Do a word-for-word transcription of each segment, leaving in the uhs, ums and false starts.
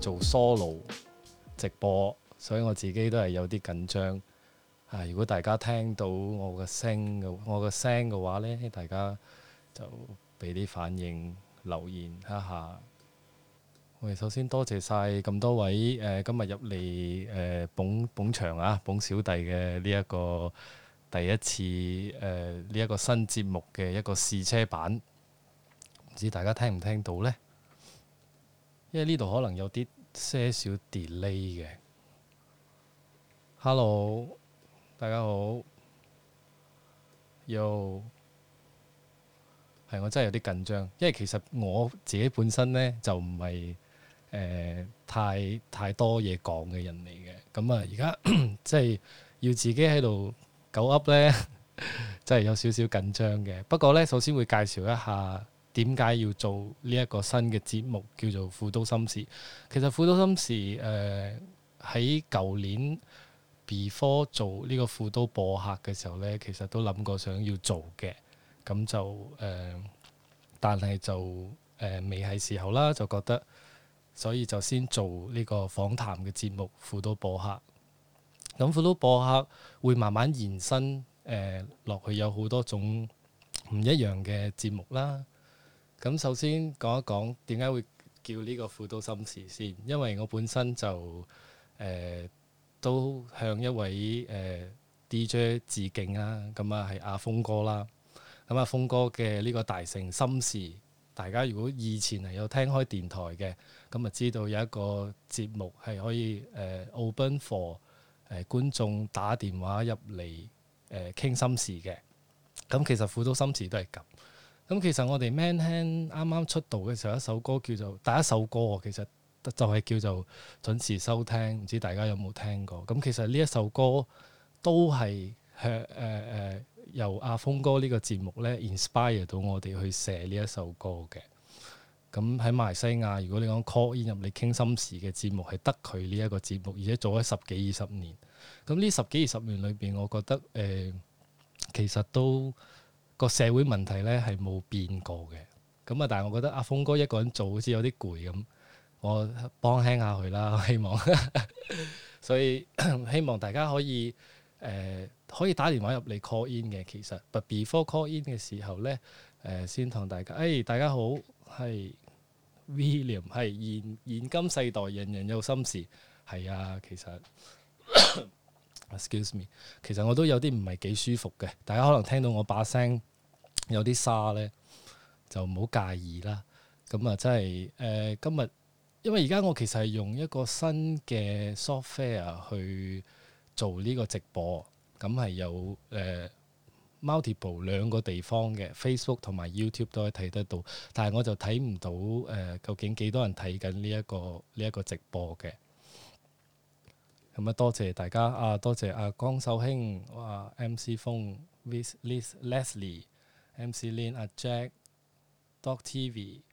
做 solo 直播，所以我自己都係有啲緊張。啊，如果大家聽到我嘅聲嘅我嘅聲嘅話呢，大家就俾啲反應留言一下。我哋首先多謝晒咁多位誒、呃、今日入嚟誒捧捧場啊，捧小弟嘅呢一個第一次誒呢一個新節目嘅一個試車版，唔知大家聽唔聽到呢？因為呢度可能有啲些少 delay 嘅。Hello，大家好。Yo，係我真係有啲緊張，因為其實我自己本身呢就唔係誒太太多嘢講嘅人嚟嘅。咁啊，而家即係要自己喺度狗噏呢，真係有少少緊張嘅。不過呢，首先會介紹一下點解要做呢一個新嘅節目，叫做《富都心事》。其實《富都心事》誒喺舊年 before 做呢個富都播客嘅時候呢，其實都諗過想要做嘅。咁就誒、呃，但係就誒、呃、未係時候啦，就覺得所以就先做呢個訪談嘅節目《富都播客》。咁富都播客會慢慢延伸誒落、呃、去，有好多種唔一樣嘅節目啦。咁首先講一講點解會叫呢個富都心事先，因為我本身就誒、呃、都向一位誒、呃、D J 致敬啊，咁啊係阿峰哥啦。咁阿峰哥嘅呢個大城心事，大家如果以前係有聽開電台嘅，咁啊知道有一個節目係可以誒、呃、open for 誒、呃、觀眾打電話入嚟誒傾心事嘅。咁其實富都心事都係咁。咁其實我哋 Man Hand 啱啱出道嘅時候，一首歌叫做第一首歌，其實就係叫做準時收聽，唔知大家有冇聽過？咁其實呢一首歌都係向誒誒由阿峰哥呢個節目咧 inspire 到我哋去寫呢一首歌嘅。咁喺馬來西亞，如果你講 call in 入嚟傾心事嘅節目，係得佢呢一個節目，而且做咗十幾二十年。咁呢十幾二十年裏邊，我覺得誒、呃、其實都個社會問題咧係冇變過嘅。咁啊，但係我覺得阿峰哥一個人做好似有啲攰咁，我幫輕下佢啦，希望。所以希望大家可以誒、呃、可以打電話入嚟 call in 嘅。其實，but before call in 嘅時候咧，誒、呃、先同大家，誒、哎、大家好，係 William，係現現今世代人人有心事，係啊，其實 excuse me，其實我都有啲唔係幾舒服嘅，大家可能聽到我把聲有啲沙咧，就唔好介意啦。咁啊，真係誒今日。因為而家我其實係用一個新嘅 software 去做呢個直播，咁係有誒、呃、multiple 兩個地方嘅 Facebook 同埋 YouTube 都可以睇得到，但係我就睇唔到誒、呃、究竟幾多人睇緊呢一個呢一個直播嘅。咁啊，多謝大家啊，多謝阿江秀興、哇 M C 風、Liz Liz Leslie、M C Lin、阿 Jack、Doc T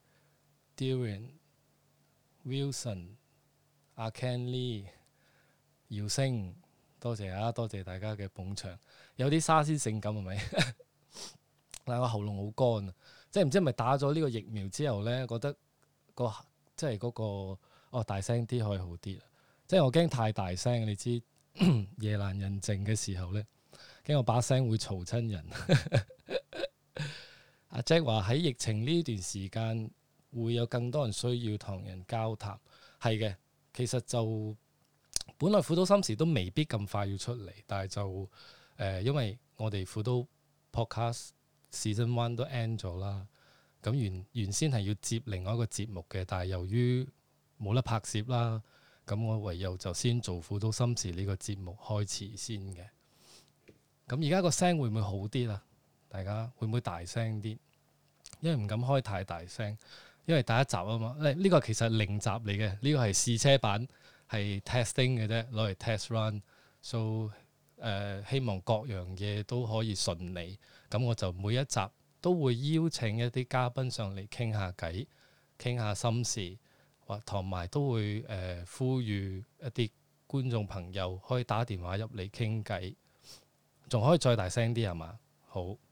V、Dylan、Wilson、阿 Ken Lee、姚星，多謝啊！多謝大家嘅捧場。有啲沙先性感係咪？但係我喉嚨好乾啊，即係唔知係咪打咗呢個疫苗之後咧，覺得、個即係嗰個哦大聲啲可以好啲。即係我驚太大聲，你知夜闌人靜嘅時候咧，驚我把聲會嘈親人。阿 Jack 話喺疫情呢段時間，會有更多人需要同人交談，係嘅。其實就本來富都心事都未必咁快要出嚟，但係就誒、呃，因為我哋富都 Podcast Season One 都 end 咗啦。咁原原先係要接另外一個節目嘅，但係由於冇得拍攝啦，咁我唯有就先做富都心事呢個節目開始先嘅。咁而家個聲會唔會好啲啊？大家會唔會大聲啲？因為唔敢開太大聲。因為第一集啊嘛，呢、這個其實係零集嚟嘅，呢、這個係試車版，係 testing 嘅啫，攞嚟 test run。so 誒、呃，希望各樣嘢都可以順利。咁我就每一集都會邀請一啲嘉賓上嚟傾下偈，傾下心事，或同埋都會誒、呃、呼籲一啲觀眾朋友可以打電話入嚟傾偈，仲可以再大聲啲係嘛？好，咁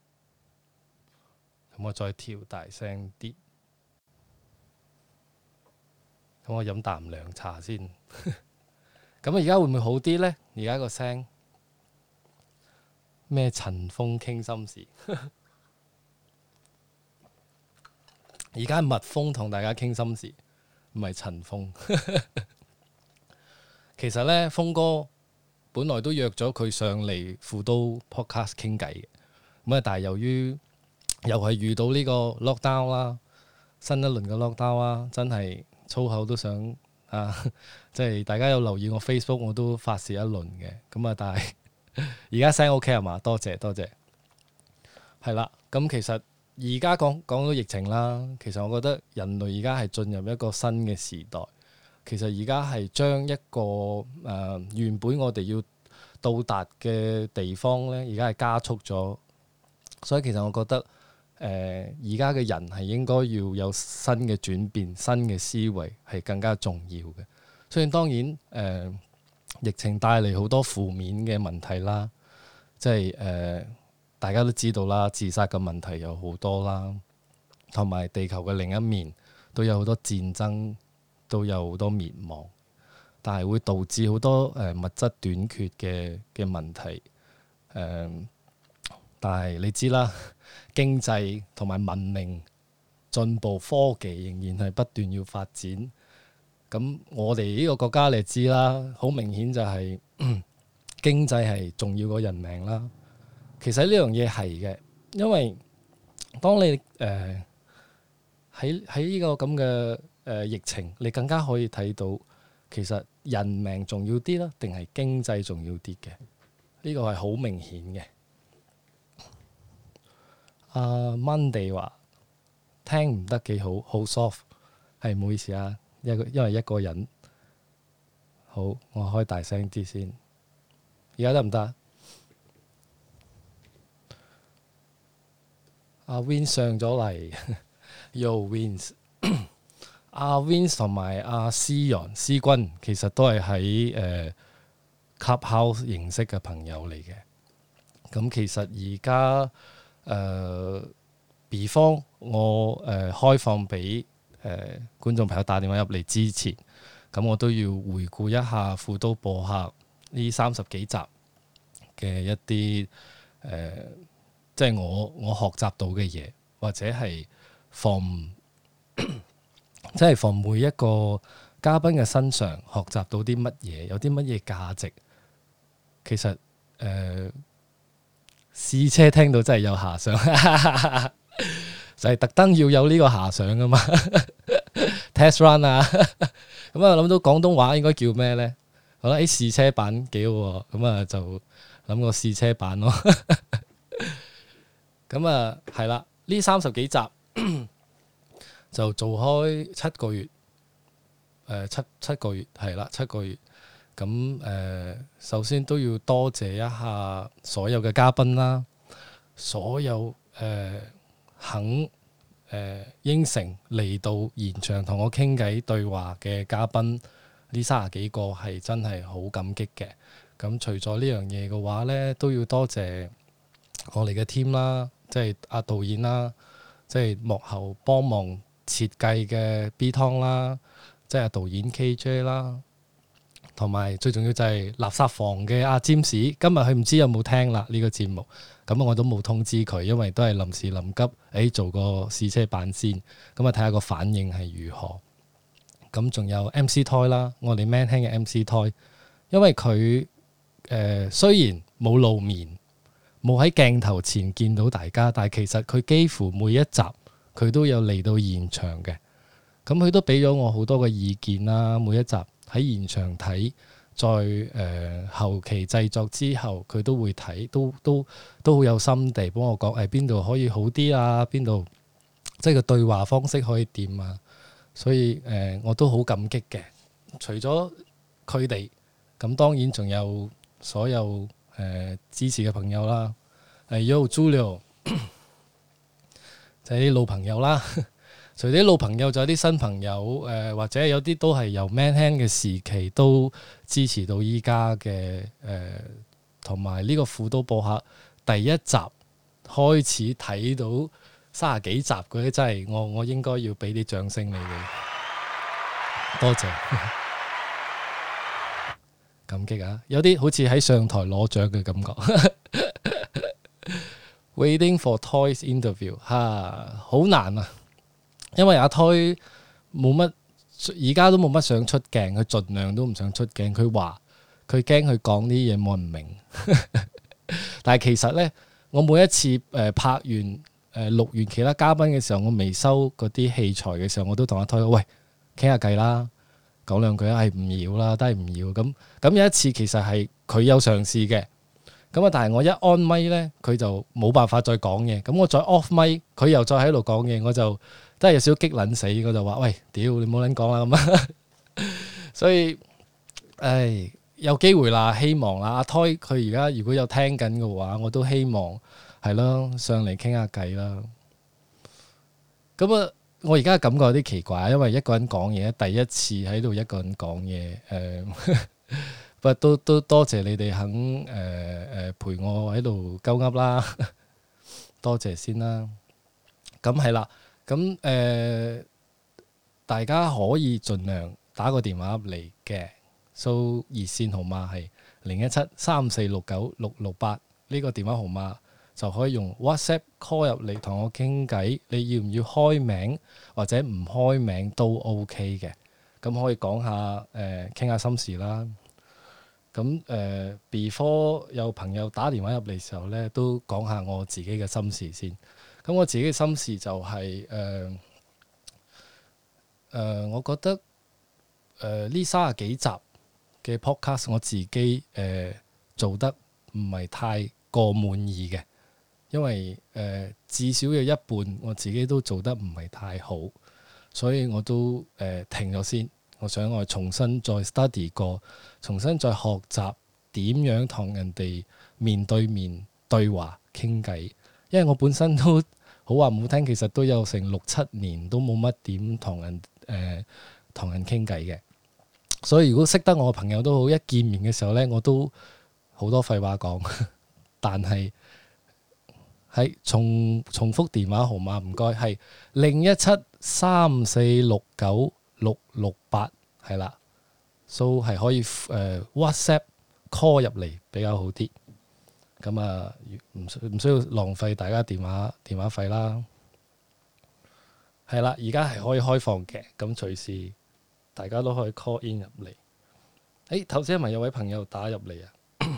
我再調大聲啲。 咁我飲啖涼茶先。咁而家會唔會好啲呢？而家個聲咩？陳風傾心事。而家係蜜蜂同大家傾心事，唔係陳風。其實呢，風哥本來都約咗佢上嚟富都 podcast 傾偈嘅，咁啊，但係由於又係遇到呢個 lockdown 啦，新一輪嘅 lockdown 啦，真係粗口都想啊！即係大家有留意我 Facebook，我都發泄一輪嘅，咁啊，但係而家聲 OK 係嘛？多謝多謝，係啦。咁其實而家講講到疫情啦，其實我覺得人類而家係進入一個新嘅時代。其實而家係將一個誒、呃、原本我哋要到達嘅地方呢，而家係加速咗。所以其實我覺得誒而家嘅人係應該要有新嘅轉變、新嘅思維係更加重要嘅。雖然當然誒、呃、疫情帶嚟好多負面嘅問題啦，即係誒、呃、大家都知道啦，自殺嘅問題有好多啦，同埋地球嘅另一面都有好多戰爭。都有好多滅亡，但係會導致好多誒、呃、物質短缺嘅嘅問題。誒、呃，但係你知啦，經濟同埋文明進步，科技仍然係不斷要發展。咁我哋呢個國家你知啦，好明顯就係、是、經濟係重要過人命啦。其實呢樣嘢係嘅，因為當你誒喺喺呢個咁嘅誒疫情，你更加可以睇到其實人命重要啲啦，定係經濟重要啲嘅？呢個係好明顯嘅。阿、uh, Monday 話聽唔得幾好，好 soft， 係唔好意思啊，一個因為一個人。好，我開大聲啲先。而家得唔得？阿 Win 上咗嚟，Yo Wins。阿 Vince 同埋阿思陽、思君其實都係喺誒 Clubhouse 認識嘅朋友嚟嘅。咁其實而家誒 before 我誒、呃、開放俾誒、呃、觀眾朋友打電話入嚟之前，咁我都要回顧一下富都播客呢三十幾集嘅一啲誒、呃，即係我我學習到嘅嘢，或者係 from 即係從每一個嘉賓嘅身上學習到啲乜嘢，有啲乜嘢價值。其實誒試、呃、車聽到真係有遐想，就係特登要有呢個遐想噶嘛。Test run 啊，咁啊諗到廣東話應該叫咩呢？我覺得誒試車版幾好喎，咁啊就諗個試車版咯。咁啊係啦，呢三十幾集。就做開七個月，誒、呃、七七個月係啦，七個月。咁誒、呃，首先都要多謝一下所有嘅嘉賓啦，所有誒、呃、肯誒、呃、應承嚟到現場同我傾偈對話嘅嘉賓，呢三十幾個係真係好感激嘅。咁除咗呢樣嘢嘅話咧，都要多謝我哋嘅 team 啦，即係阿導演啦，即係幕後幫忙設計嘅 B 湯啦，即係導演 K J 啦，同埋最重要就係垃圾房嘅阿占士，今日佢唔知有冇聽啦呢個節目，咁我都冇通知佢，因為都係臨時臨急，誒、哎、做個試車版先，咁啊睇下個反應係如何。咁仲有 M C Toy 啦，我哋 Man 聽嘅 M C Toy，因為佢誒、呃、雖然冇露面，冇喺鏡頭前見到大家，但係其實佢幾乎每一集，佢都有嚟到現場嘅，咁佢都俾咗我好多嘅意見啦。每一集喺現場睇，再誒、呃、後期製作之後，佢都會睇，都都都好有心地幫我講，誒邊度可以好啲啊，邊度即係個對話方式可以點啊。所以誒、呃，我都好感激嘅。除咗佢哋，咁當然仲有所有誒、呃、支持嘅朋友啦。誒 Yo Julio。就係啲老朋友啦，除咗啲老朋友，就有啲新朋友，誒、呃、或者有啲都係由 Man Hand 嘅時期都支持到依家嘅，誒同埋呢個富都播客第一集開始睇到三十幾集嗰啲，真係我我應該要俾啲掌聲你哋。 多謝，感激啊！有啲好似喺上台攞獎嘅感覺。Waiting for Toys interview 嚇、啊，好難啊！因為阿 Toy 冇乜，而家都冇乜想出鏡，佢盡量都唔想出鏡。佢話佢驚佢講啲嘢冇人明。但係其實呢，我每一次誒、呃、拍完誒、呃、錄完其他嘉賓嘅時候，我未收嗰啲器材嘅時候，我都同阿 Toy 喂，傾下偈啦，講兩句啊，係唔要啦，都係唔要咁。咁有一次其實係佢有嘗試嘅。咁啊！但係我一 on 咪咧，佢就冇辦法再講嘢。咁我再 off 咪，佢又再喺度講嘢，我就真係有少少激撚死。我就話：喂，屌你冇撚講啦咁啊！所以，唉，有機會啦，希望啦。阿 Toy 佢而家如果有聽緊嘅話，我都希望係咯，上嚟傾下偈啦。咁啊，我而家感覺有啲奇怪，因為一個人講嘢，第一次喺度一個人講嘢，誒、呃。不都都多謝你哋肯誒誒、呃、陪我喺度鳩噏啦，多謝先啦。咁係啦，咁誒、呃、大家可以盡量打個電話入嚟嘅，數熱線號碼係零一七三四六九六六八，呢個電話號碼就可以用 WhatsApp call 入嚟同我傾偈。你要唔要開名或者唔開名都 OK 嘅，咁可以講下誒傾下心事啦。咁誒、呃、before 有朋友打電話入嚟嘅時候咧，都講下我自己嘅心事先。咁我自己嘅心事就係誒誒，我覺得誒呢三十幾集嘅 podcast 我自己誒、呃、做得唔係太過滿意嘅，因為誒、呃、至少有一半我自己都做得唔係太好，所以我都誒、呃、停咗先。我想我重新再 study 過，重新再學習點樣同人哋面對面對話傾偈。因為我本身都好話唔好聽，其實都有成六七年都冇乜點同人誒同、呃、人傾偈嘅。所以如果識得我嘅朋友都好，一見面嘅時候呢，我都好多廢話講。但係喺重重複電話號碼唔該，係零一七三四六九六六八係啦，so 係可以誒、呃、WhatsApp call 入嚟比較好啲。咁啊，唔需唔需要浪費大家電話電話費啦。係啦，而家係可以開放嘅，咁隨時大家都可以 call in 入嚟。誒，頭先係咪有位朋友打入嚟啊？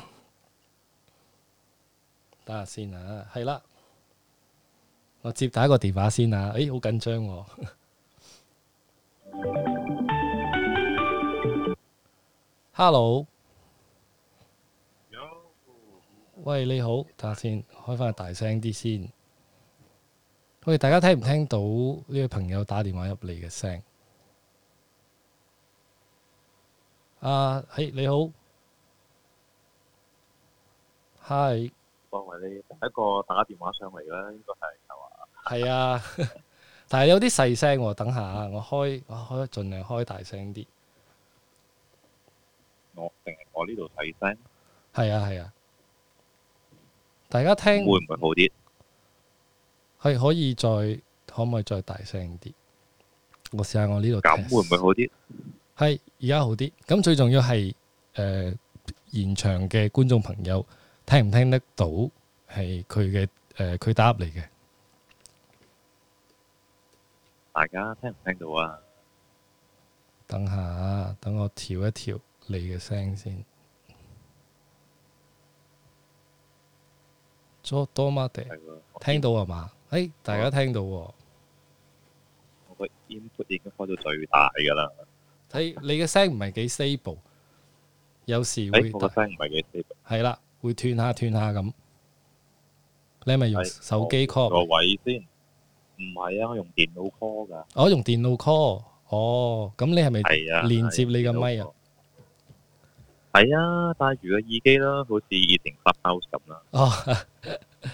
等下先啊，係啦，我接第一個電話先啊。誒，好緊張喎。Hello， 喂，你好，等下先，開翻大聲啲先。喂，大家聽唔聽到呢位朋友打電話入嚟嘅聲？啊，係你好 ，Hi。 作為你第一個打電話上嚟啦，應該係係嘛？ 係啊，但係有啲細聲喎。等下我開，我開盡量開大聲啲。 我定係我呢度細聲？ 係啊係啊，大家聽會唔會好啲？ 係可以再可唔可以再大聲啲？我試下我呢度。 咁會唔會好啲？ 係而家好啲。咁最重要係誒、呃、現場嘅觀眾朋友聽唔聽得到係佢嘅誒佢打入嚟嘅？ 大家聽唔聽到啊？ 等下，等我調一調你嘅聲先。多多媽地聽到係嘛？誒、哎，大家聽到喎。 我個 input 已經開到最大㗎啦。 睇你嘅聲唔係幾 stable，有時會。 誒，我個聲唔係幾 stable。係啦，會斷下斷下咁。你係咪用手機 call？ 個位先。唔係啊，我用電腦 call 㗎。 我、哦、用電腦 call。哦，咁你係咪連接你個咪啊？ 係啊，戴住個耳機啦，好似以前 Clubhouse 咁啦。 哦，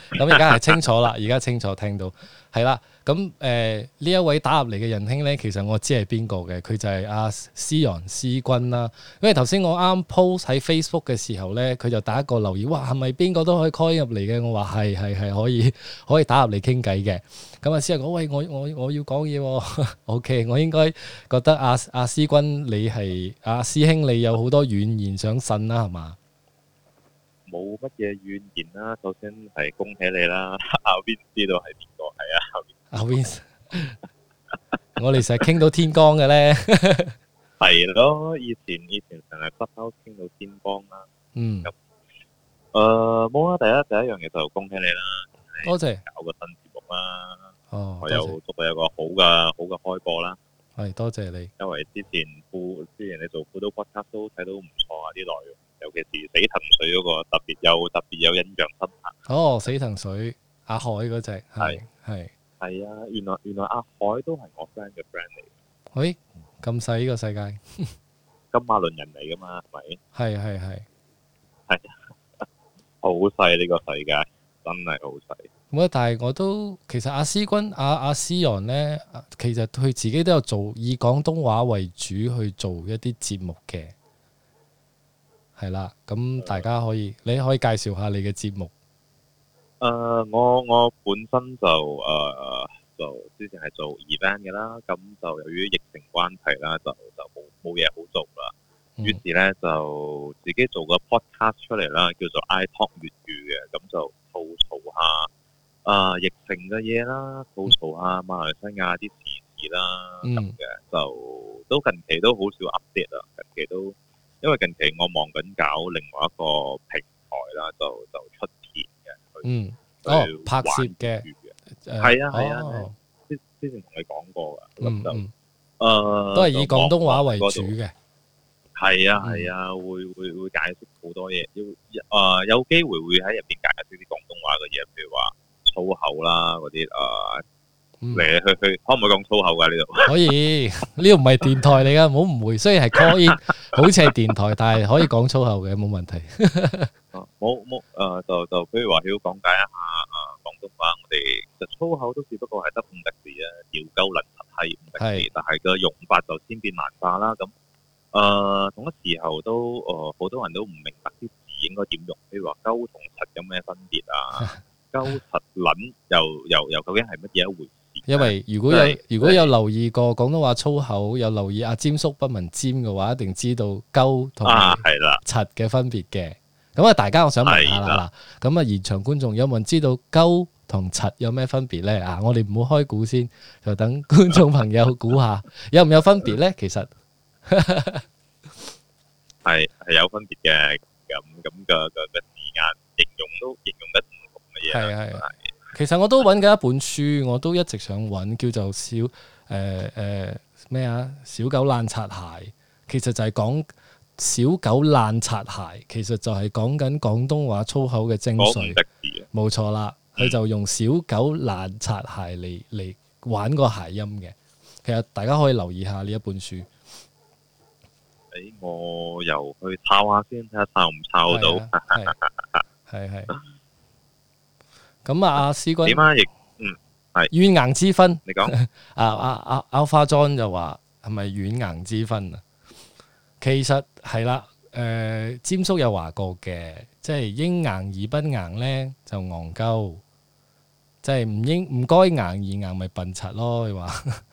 咁而家係清楚啦，而家清楚聽到係啦。咁誒呢一位打入嚟嘅仁兄咧，其實我知係邊個嘅，佢就係阿思陽思君啦。因為頭先我啱 post 喺 Facebook 嘅時候咧，佢就打一個留言，哇係咪邊個都可以 call 入嚟嘅？我話係係係可以可以打入嚟傾偈嘅。咁啊思陽講喂，我我我要講嘢喎，OK，我應該覺得阿阿思君你係阿師兄，你有好多怨言想呻啦，係嘛？ 冇乜嘢怨言啦，首先係恭喜你啦，阿 Win 知道係邊個係啊？ 阿 Win，我哋成日傾到天光嘅咧， 係咯，以前以前成日 Clubhouse 傾到天光啦。 嗯， 咁誒冇啊，第一第一樣嘢就恭喜你啦， 多謝， 搞個新節目啦， 哦， 我多謝又祝你有個好嘅好嘅開播啦。 係多謝你， 因為之前副之前你做輔導 podcast 都睇到唔錯啊啲內容，尤其是死藤水嗰個特別有特別有印象深刻。 哦，死藤水阿海嗰隻係係係啊，原來原來阿海都係我 friend 嘅 friend 嚟， 喂咁細呢個世界， 金馬倫人嚟噶嘛，係咪？ 係係係， 係好細呢個世界，真係好細。 咁啊！但係我都其實阿思君阿阿思陽咧，其實佢自己都有做以廣東話為主去做一啲節目嘅，係啦。咁大家可以你可以介紹下你嘅節目。 誒、呃，我我本身就誒、呃、就之前係做 event 嘅啦，咁就由於疫情關係啦，就就冇冇嘢好做啦。於是咧就自己做個 podcast 出嚟啦，叫做 I Talk 粵語嘅，咁就吐槽下啊、呃、疫情嘅嘢啦，吐槽下馬來西亞啲時事啦咁嘅、嗯，就都近期都好少 update 啦，近期都因為近期我忙緊搞另外一個平台啦，就就出片嘅， 嗯，哦，拍攝嘅， 係啊係啊，之之前同你講過㗎，咁就誒、呃、 都係以廣東話為主嘅。 係啊係啊，會會會解釋好多嘢，要誒、呃、有機會會喺入邊解釋啲廣東話嘅嘢，譬如話粗口啦嗰啲誒嚟嚟去去，可唔可以講粗口㗎呢度？ 可以，呢度唔係電台嚟㗎，唔好誤會。雖然係 call in，好似係電台，但係可以講粗口嘅，冇問題。 冇冇誒，就就譬如話要講解一下誒、呃、廣東話，我哋就粗口都只不過係得五個字啊，屌鳩撚柒係五個字，但係個用法就千變萬化啦咁。誒、呃、同一時候都誒好、呃、多人都唔明白啲字應該點用，譬如話鳩同柒有咩分別啊？鳩柒撚又又又究竟係乜嘢一回事？ 因為如果有如果有留意過廣東話粗口，有留意阿詹叔不聞尖嘅話，一定知道鳩同埋柒嘅分別嘅。咁啊，大家我想問下啦，嗱，咁啊現場觀眾有冇人知道鳩同柒有咩分別咧？啊，我哋唔好開估先，就等觀眾朋友估下有唔有分別咧？其實。 係係有分別嘅，咁咁嘅嘅嘅字眼形容都形容得唔同嘅嘢。係係， 其實我都揾緊一本書，我都一直想揾，叫做小誒誒咩啊？小狗爛擦鞋，其實就係講小狗爛擦鞋，其實就係講緊廣東話粗口嘅精髓。冇錯啦，佢、嗯、就用小狗爛擦鞋嚟嚟玩個諧音嘅。其實大家可以留意下呢一本書。 誒，我又去抄下先，睇下抄唔抄到。 係係。咁啊，阿思君點啊？亦嗯係軟硬之分。 你講。 啊啊啊！Alpha John 就話係咪軟硬之分啊？其實係啦，誒，詹叔有話過嘅，即係應硬而不硬咧就戇鳩，即係唔應唔該硬而硬咪笨柒咯。你話？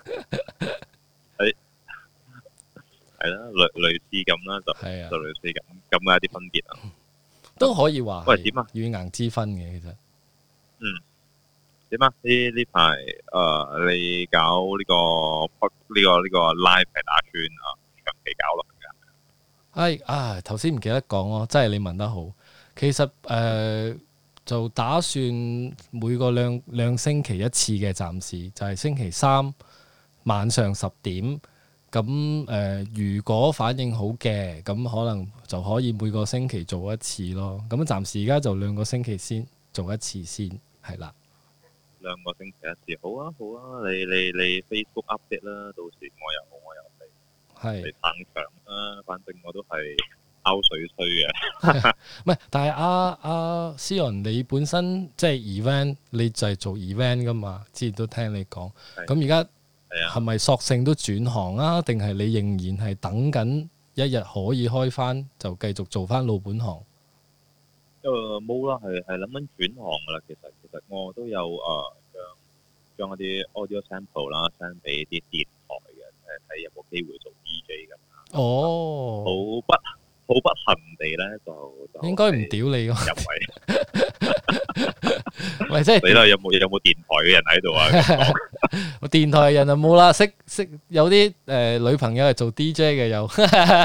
係啦，類類似咁啦，就係啊，就類似咁咁嘅一啲分別啊， 都可以話。 喂，點啊？ 軟硬之分嘅其實。 嗯。點啊？呢呢排誒，你搞呢個呢個呢個 live 係打算啊長期搞落去㗎？ 係啊，頭先唔記得講咯，真係你問得好。其實誒、呃、就打算每個兩兩星期一次嘅，暫時就係、是、星期三晚上十點。咁誒、呃，如果反應好嘅，咁可能就可以每個星期做一次咯。咁暫時而家就兩個星期先做一次先，係啦。 兩個星期一次，好啊好啊，你你你 Facebook update 啦，到時我又我又嚟嚟撐場啦。反正我都係拗水吹嘅。 唔係，但係阿阿思陽，你本身即係 event，你就係做 event 噶嘛？之前都聽你講。咁而家係咪索性都轉行啊？定係你仍然係等緊一日可以開翻，就繼續做翻老本行？ 誒冇啦，係係諗緊轉行噶啦。其實其實我都有誒將將一啲 audio sample 啦 send 俾啲電台嘅，誒睇有冇機會做 D J 咁。 哦， 好不好不幸地咧，就就應該唔屌你㗎。 入圍。 喂，即係你啦，有冇有冇電台嘅人喺度啊？ 我電台人就冇啦，識識有啲誒、呃、女朋友係做 D J 嘅有。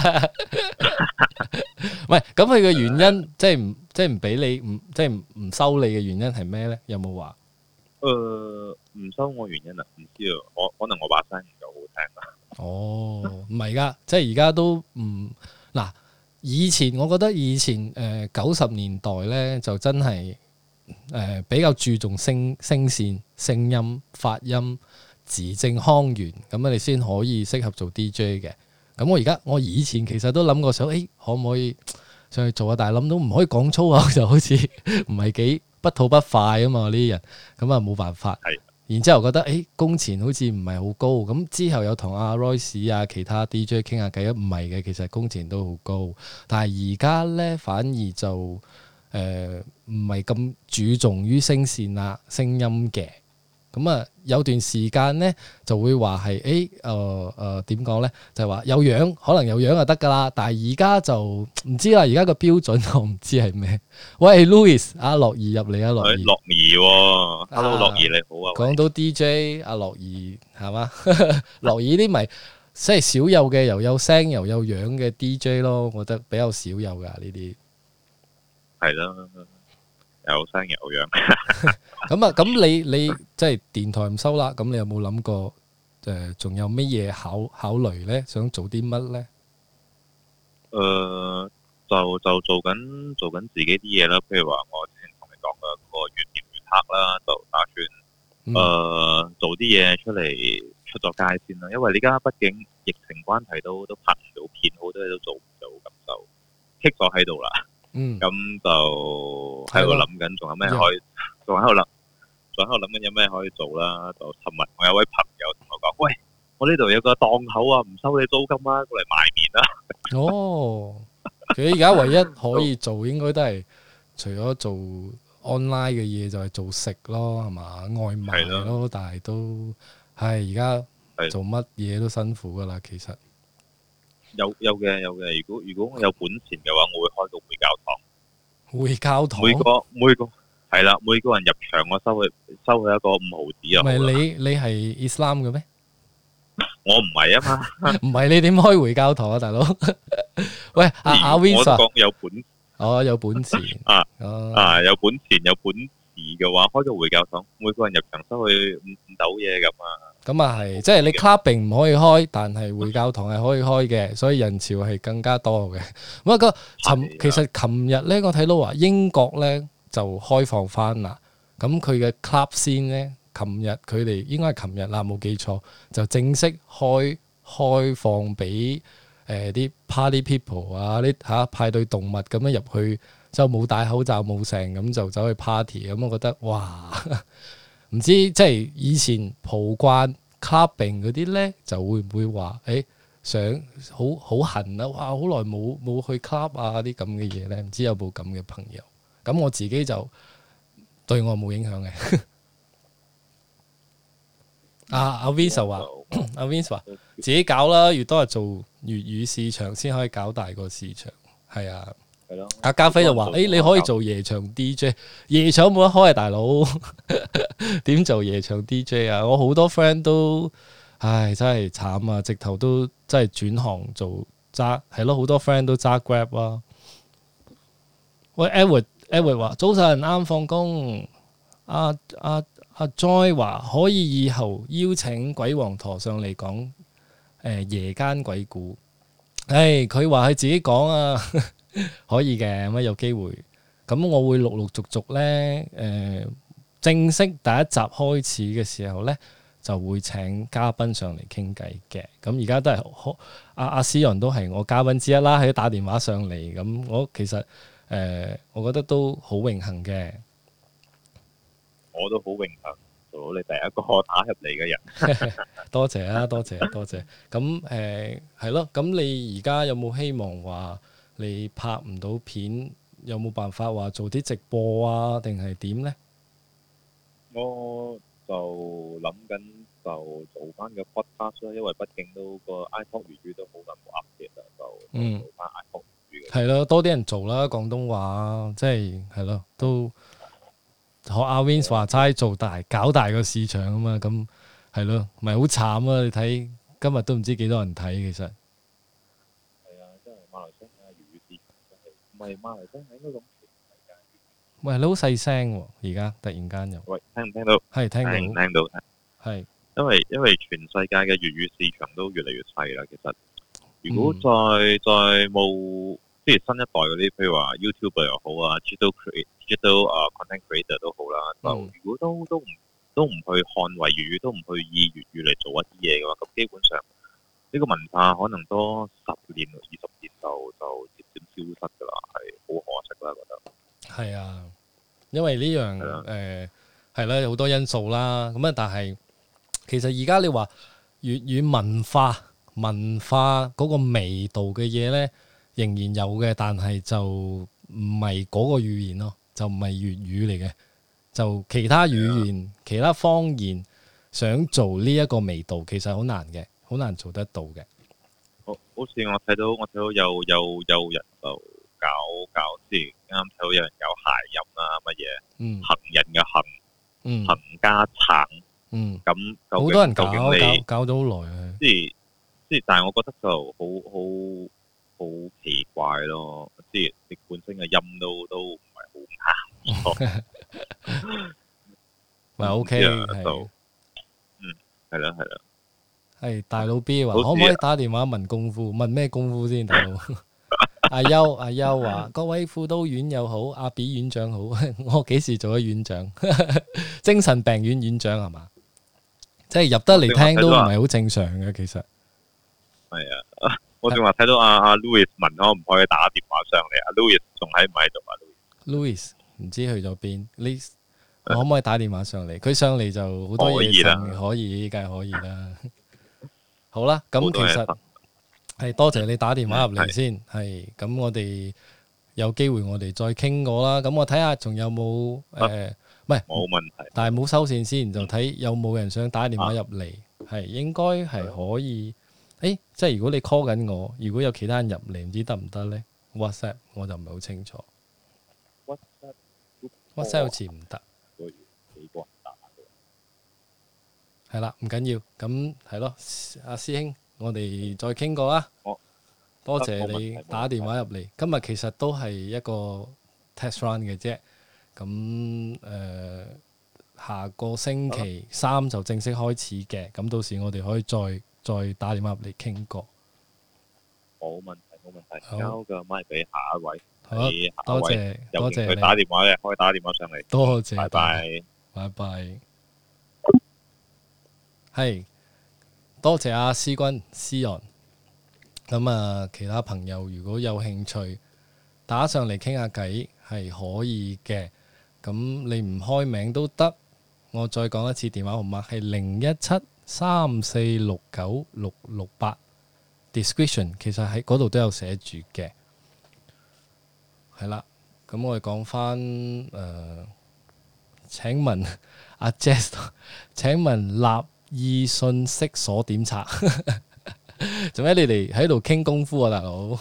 唔係，咁佢嘅原因即係唔即係唔俾你唔即係唔唔收你嘅原因係咩咧？有冇話？ 誒唔收我原因啊？唔知啊，可可能我把聲唔夠好聽啦。 哦，唔係噶，即係而家都唔嗱。以前我覺得以前誒九十年代咧就真係誒、呃、比較注重聲聲線、聲音、發音、字正腔圓，咁啊你先可以適合做 D J 嘅。咁我而家我以前其實都諗過想，誒、欸、可唔可以上去做啊？但係諗到唔可以講粗口，就好似唔係幾不吐不快啊嘛呢啲人，咁啊冇辦法。然之後覺得誒工錢好似唔係好高，咁之後有同阿 Royce 啊其他 D J 傾下偈，唔係嘅，其實工錢都好高，但係而家咧反而就誒唔係咁注重於聲線啦、聲音嘅。咁啊有段時間咧就會話係誒誒誒點講咧，就係話有樣可能有樣就得㗎啦，但係而家就唔知啦，而家個標準我唔知係咩。喂 Louis，阿樂兒入嚟啊，樂兒。 樂兒喎，Hello 樂兒你好啊。 講到 D J，阿樂兒係嘛？樂兒啲咪即係少有嘅，又有聲又有樣嘅 D J 咯，我覺得比較少有㗎呢啲。 係啦。有聲有樣。 咁啊，咁你你即係電台唔收啦，咁你有冇諗過誒？仲有乜嘢考考慮咧？想做啲乜咧？ 誒，就就做緊做緊自己啲嘢啦。譬如話，我之前同你講嘅嗰個月年月黑啦，就打算誒做啲嘢出嚟出咗街先啦。因為而家畢竟疫情關係都都拍唔到片，好多嘢都做唔到，咁就棘咗喺度啦。 嗯， 咁就喺度諗緊，仲有咩可以？仲喺度諗，仲喺度諗緊有咩可以做啦。就尋日我有位朋友同我講：喂，我呢度有個檔口啊，唔收你租金啊，過嚟賣麵啦。 哦，佢而家唯一可以做，應該都係除咗做 online 嘅嘢，就係做食咯，係嘛？外賣咯，但係都係而家做乜嘢都辛苦噶啦，其實。 有有嘅有嘅，如果如果我有本錢嘅話，我會開個會教堂。 會教堂每個每個係啦，每個人入場我收佢收佢一個五毫子啊。 唔係你你係 Islam 嘅咩？ 我唔係啊嘛。 唔係你點開會教堂啊，大佬？喂，阿阿 Vincent， 我講有本哦有本錢啊哦啊有本錢有本事嘅話，開個會教堂，每個人入場收佢五五斗嘢咁啊。 咁啊係，即係你 clubbing 唔可以開，但係會教堂係可以開嘅，所以人潮係更加多嘅。咁啊個尋其實琴日咧，我睇到話英國咧就開放翻啦。咁佢嘅 club scene咧，琴日佢哋應該係琴日啦，冇記錯就正式開開放俾誒啲 party people 啊，啲嚇派對動物咁樣入去，就冇戴口罩冇成咁就走去 party。咁我覺得哇〜唔知即係以前蒲慣 clubbing 嗰啲咧，就會唔會話誒想好好痕啊？哇！好耐冇冇去 club 啊啲咁嘅嘢咧，唔知有冇咁嘅朋友？咁我自己就對我冇影響嘅。阿阿 Vince 話，阿 Vince 話自己搞啦，越多人做粵語市場先可以搞大個市場。係啊。阿家輝就話：誒、欸，你可以做夜場 D J，夜場冇得開啊，大佬，點做夜場 D J 啊？我好多 friend 都，唉，真係慘啊！直頭都真係轉行做揸，係咯，好多 friend 都揸 Grab 啦。喂 ，Edward，Edward 話早晨啱放工。阿阿阿 Joy 話可以以後邀請鬼王陀上嚟講，誒、呃、夜間鬼故。唉，佢話佢自己講啊。可以嘅，咁有機會，咁我會陸陸續續咧，誒、呃、正式第一集開始嘅時候咧， 就會請嘉賓上嚟傾偈嘅。咁而家都係阿阿思陽都係我嘉賓之一啦，喺打電話上嚟。咁我其實誒、呃，我覺得都好榮幸嘅。 我都好榮幸做到你第一個打入嚟嘅人。 多謝啊，多謝多謝。咁誒係咯，咁、呃、你而家有冇希望話你拍唔到片，有冇辦法話做啲直播啊，定係點呢？ 我就諗緊就做翻個 podcast 啦，因為畢竟都個 iPod 粵語都好耐冇 update 啦，就嗯做翻 iPod 粵語嘅。 係咯，多啲人做啦，廣東話即係係咯，都學阿 Wins 話齋做大搞大個市場啊嘛，咁係咯，咪好慘啊！你睇今日都唔知幾多人睇，其實係啊，真係馬來西亞粵語市場真係唔係馬來西亞應該咁全世界。 喂，你好細聲喎，而家突然間又喂，聽唔聽到？ 係聽聽唔到聽到？ 係因為因為全世界嘅粵語市場都越嚟越細啦，其實如果嗯再再冇即係新一代嗰啲，譬如話 YouTuber 又好啊，digital create digital 啊 content creator 都好啦，就嗯如果都都唔都唔去捍衛粵語，都唔去以粵語嚟做一啲嘢嘅話，咁基本上呢個文化可能多十年、二十年就就漸漸消失㗎啦，係好可惜啦，覺得。 係啊，因為呢樣係啦誒係啦，有好多因素啦。咁啊，但係其實而家你話粵語文化文化嗰個味道嘅嘢咧，仍然有嘅，但係就唔係嗰個語言咯，就唔係粵語嚟嘅，就其他語言、其他方言想做呢一個味道，其實好難嘅，好難做得到嘅。 好好似我睇到我睇到有有有人就搞搞即係啱睇到有人有諧音啊乜嘢， 嗯行人嘅行， 嗯行家橙， 嗯， 咁究好多人竟搞搞究竟你搞咗好耐啊。 即係即係，但係我覺得就好好好奇怪咯，即係你本身嘅音都都唔係好啱。 咪 OK 就係嗯係啦係啦， 係大佬 B 話好似可唔可以打電話問功夫？問咩功夫先，大佬？阿優阿優話各位輔導院又好，阿 B 院長好，我幾時做咗院長？精神病院院長係嘛？即係入得嚟聽都唔係好正常嘅，其實係啊，我仲話睇到阿阿 Louis 問可唔可以打電話上嚟，阿 Louis 仲喺唔喺度啊 Louis 唔知去咗邊？你我可唔可以打電話上嚟？佢上嚟就好多嘢剩，可以梗係可以啦。好啦，咁其實係多謝你打電話入嚟先，係咁我哋有機會我哋再傾過啦。咁我睇下仲有冇誒，唔係冇問題， 但係冇收線先，就睇有冇人想打電話入嚟，係應該係可以。誒，即係如果你 call 緊我，如果有其他人入嚟，唔知得唔得呢 WhatsApp 我就唔係好清楚。WhatsApp 好似唔得。係啦，唔緊要，咁係咯，阿師兄，我哋再傾過啦。多謝你打電話入嚟。今日其實都係一個 test run 嘅啫。咁誒、呃，下個星期三就正式開始嘅。咁到時我哋可以再再打電話入嚟傾過。 冇問題，冇問題。交個麥俾下一位。 好，多謝多謝你打電話嘅，可以打電話上嚟。 多謝， 拜拜， 拜拜。係，多謝阿思君思陽。咁啊，其他朋友如果有興趣打上嚟傾下偈係可以嘅。咁你唔開名都得。我再講一次電話號碼係零一七三四六九六六八。Description 其實喺嗰度都有寫住嘅。係啦，咁我哋講翻誒，請問阿 Jess， 請問立意信息鎖點拆？做咩你哋喺度傾功夫啊，大佬？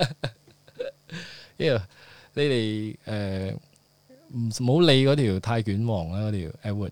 因為你哋誒唔好理嗰條泰卷王啦，嗰條 Edward。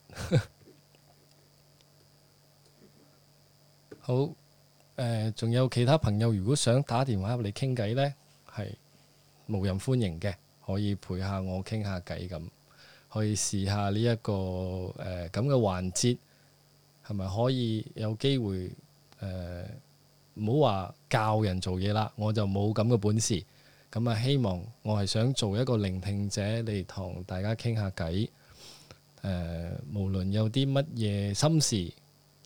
好誒，仲、呃、有其他朋友如果想打電話入嚟傾偈呢，係無任歡迎嘅，可以陪下我傾下偈咁，可以試下呢、這、一個誒咁嘅環節。係咪可以有機會誒？唔好話教人做嘢啦，我就冇咁嘅本事。咁啊，希望我係想做一個聆聽者嚟同大家傾下偈。誒、呃，無論有啲乜嘢心事，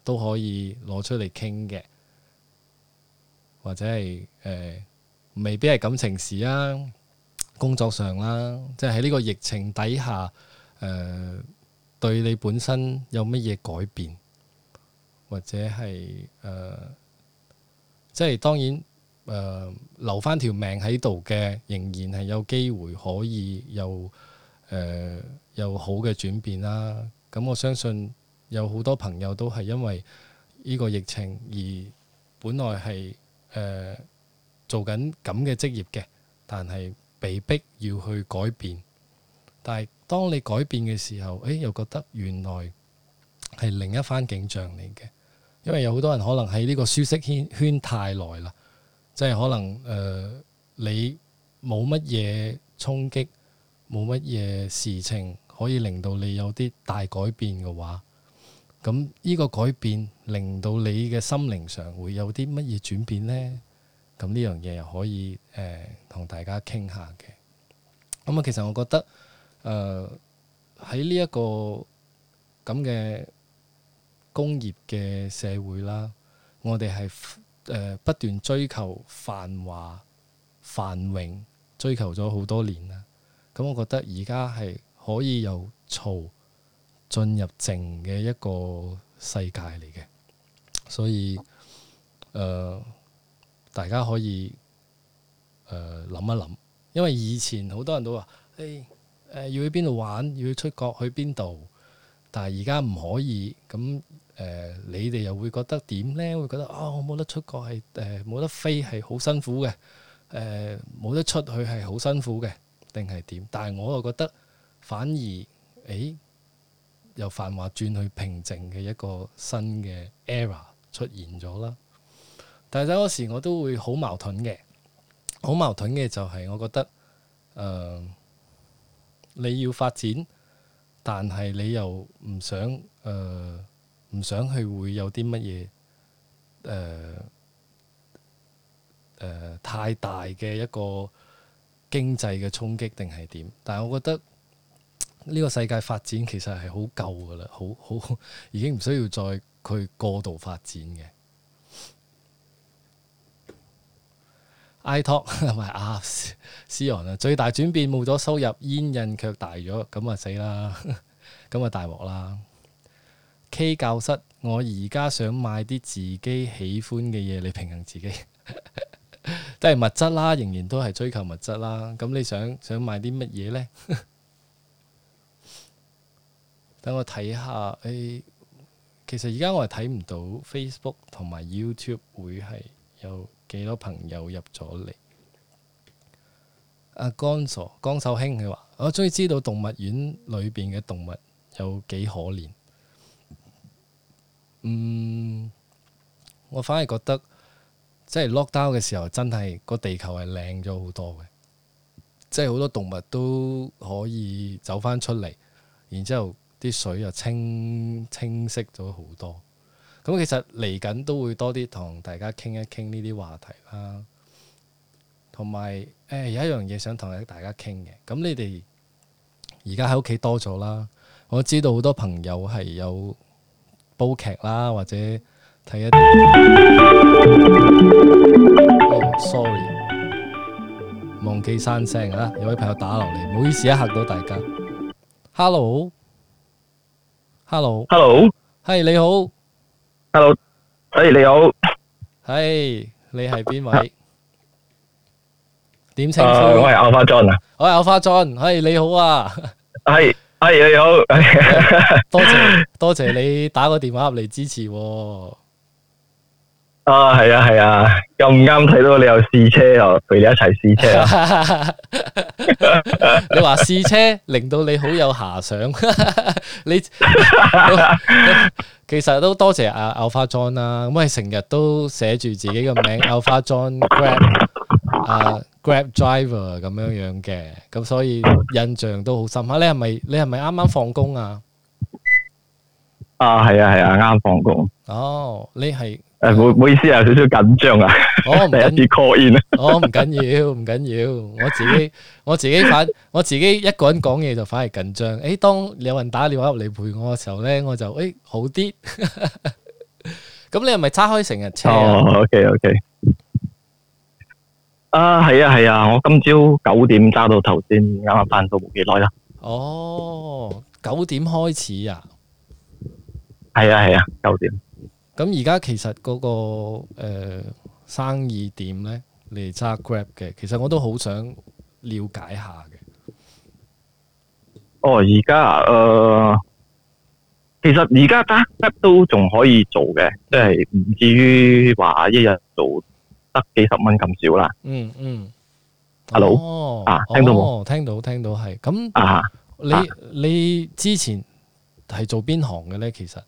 都可以攞出嚟傾嘅，或者係誒、呃、未必係感情事啊，工作上啦，即係喺呢個疫情底下誒、呃、對你本身有乜嘢改變，或者係誒、呃、即係當然誒、呃、留翻條命喺度嘅，仍然係有機會可以有誒、呃、有好嘅轉變啦。咁我相信有好多朋友都係因為呢個疫情而本來係誒、呃、做緊咁嘅職業嘅，但係被逼要去改變。但係當你改變嘅時候，誒又覺得原來係另一番景象嚟嘅。因為有好多人可能喺呢個舒適圈圈太耐啦，即係可能誒、呃、你冇乜嘢衝擊，冇乜嘢事情可以令到你有啲大改變嘅話，咁呢個改變令到你嘅心靈上會有啲乜嘢轉變呢？咁呢樣嘢又可以誒同、呃、大家傾下嘅。咁啊，其實我覺得誒喺呢一個咁嘅工業嘅社會啦，我哋係誒不斷追求繁華繁榮，追求咗好多年啦。咁我覺得而家係可以由嘈進入靜嘅一個世界嚟嘅，所以誒、呃、大家可以誒諗、呃、一諗，因為以前好多人都話誒誒要去邊度玩，要去出國去邊度，但係而家唔可以咁。誒、呃，你哋又會覺得點呢？會覺得啊、哦，我冇得出國係誒冇得飛係好辛苦嘅，誒、呃、冇得出去係好辛苦嘅，定係點？但係我又覺得反而誒由繁華轉去平靜嘅一個新嘅 era 出現咗啦。但係有時我都會好矛盾嘅，好矛盾嘅就係我覺得誒、呃、你要發展，但係你又唔想誒。呃唔想去會有啲乜嘢誒誒太大嘅一個經濟嘅衝擊定係點？但係我覺得呢個世界發展其實係好夠㗎喇，好好已經唔需要再去過度發展嘅。iTalk 同埋啊，Sion啊，最大轉變冇咗收入，煙癮卻大咗，咁啊死啦，咁啊大鑊啦。K 教室，我而家想買啲自己喜歡嘅嘢嚟平衡自己，都係物質啦，仍然都係追求物質啦。咁你想想買啲乜嘢呢？等我睇下，誒、哎，其實而家我係睇唔到 Facebook 同埋 YouTube 會係有幾多朋友入咗嚟。阿江傻江秀興佢話：我終於知道動物園裏邊嘅動物有幾可憐。嗯，我反而覺得即係 lockdown 嘅時候，真係個地球係靚咗好多嘅，即係好多動物都可以走翻出嚟，然之後啲水又清清晰咗好多。咁其實嚟緊都會多啲同大家傾一傾呢啲話題啦，同埋誒有一樣嘢想同大家傾嘅。咁你哋而家喺屋企多咗啦，我知道好多朋友係有煲劇啦，或者睇一啲、oh, sorry 忘記閂聲啊！有位朋友打落嚟，唔好意思啊，嚇到大家。Hello，Hello，Hello，係你好 ，Hello，誒你好， 係你係邊位？點稱呼？ 誒我係 Alpha John 啊， 我係 Alpha John，係你好啊， 係。係你好， 多謝多謝你打個電話入嚟支持喎。 啊係啊係啊，咁啱睇到你有試車，又陪你一齊試車。 你話試車令到你好有遐想，你其實都多謝阿 Alpha John 啦。咁係成日都寫住自己嘅名 Alpha John Grab 啊。Grab driver 咁樣樣嘅，咁所以印象都好深刻。你係咪你係咪啱啱放工啊？ 啊係啊係啊，啱放工。 哦，你係誒，唔唔好意思啊，有少少緊張啊。 哦， 第一次 call in 啊。 哦，唔緊要，唔緊要。我自己我自己反我自己一個人講嘢就反而緊張。誒，當有人打電話入嚟陪我嘅時候咧，我就誒好啲。 咁你係咪揸開成日車啊？ 哦，OK OK。啊，係啊係啊，我今朝九點揸到頭先，啱啱翻到冇幾耐啦。 哦，九點開始啊？ 係啊係啊，九點。 咁而家其實嗰、個誒、呃、生意點咧？你哋揸 Grab 嘅，其實我都好想了解下嘅。 哦，而家啊，誒、呃，其實而家揸 Grab 都仲可以做嘅，即係唔至於話一日做得幾十蚊咁少啦。 嗯嗯。 Hello？ 哦、 啊，聽到冇？ 哦，聽到聽到係。咁啊， 你、 啊你之前係做邊行嘅咧？其實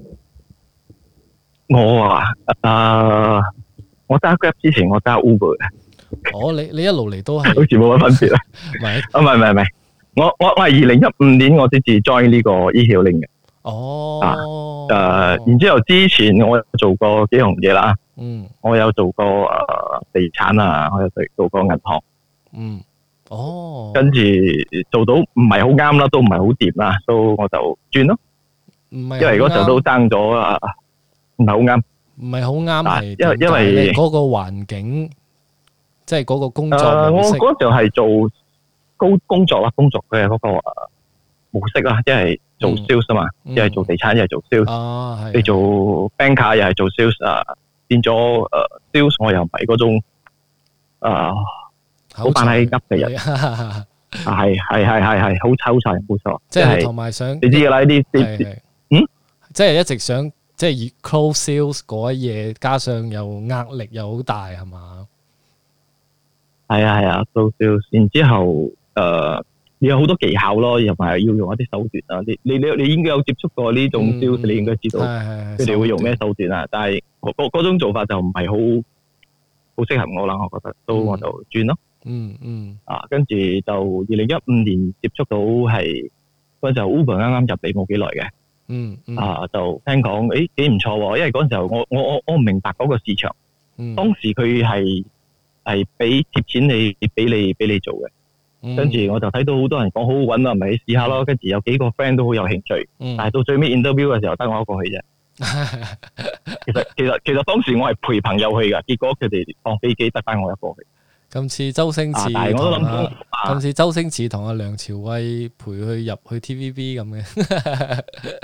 我啊，誒、我揸 Grab 之前我揸 Uber 嘅， 哦，你你一路嚟都係好似冇乜分別啊。 唔係？ 啊，唔係唔係唔係，我我我係二零一五年我先至 join 呢個 e-hailing 嘅。 哦。 誒、然之後之前我有做過幾樣嘢啦， 嗯我有做過誒、地產啊，我有做做過銀行， 嗯。哦。 跟住做到唔係好啱啦，都唔係好掂啦，所以我就轉咯。 唔係因為嗰時候都爭咗啊，唔係好啱。 唔係好啱係因為因為點解呢嗰個環境，即係嗰個工作誒、我模式。 嗰時候係做高工作啦，工作嘅嗰個誒模式啦，一係做嗯 sales 啊嘛， 嗯一係做地產，一係做 sales。 啊，係你做 banker 又係做 sales 啊，變咗誒 sales 我又唔係嗰種誒好扮係噏嘅人， 人， 啊係係係係係好抽晒冇錯， 即係係同埋想你知㗎啦，呢啲啲係係嗯， 即係一直想即係以 close sales 嗰一嘢，加上又壓力又好大係嘛？ 係啊係啊做 sales，然之後誒你有好多技巧咯，又埋要用一啲手段啊，你你你你應該有接觸過呢種 sales，你應該知道係係係佢哋會用咩手段啊，但係嗰嗰嗰種做法就唔係好好適合我啦，我覺得，都我就轉咯。 嗯嗯啊，跟住就二零一五年接觸到係嗰陣時候 Uber 啱啱入嚟冇幾耐嘅， 嗯嗯啊就聽講誒幾唔錯喎，因為嗰陣時候我我我我唔明白嗰個市場， 嗯， 當時佢係係俾貼錢你俾你俾你做嘅， 嗯跟住我就睇到好多人講好好揾啊，咪去試下咯，跟住有幾個 friend 都好有興趣， 嗯但係到最尾 interview 嘅時候得我一個去啫。其實其實其實當時我係陪朋友去㗎，結果佢哋放飛機得翻我一個去。 今次周星啊馳但係我都諗同阿到啊今次周星馳同阿梁朝偉陪佢入去 T V B 咁嘅，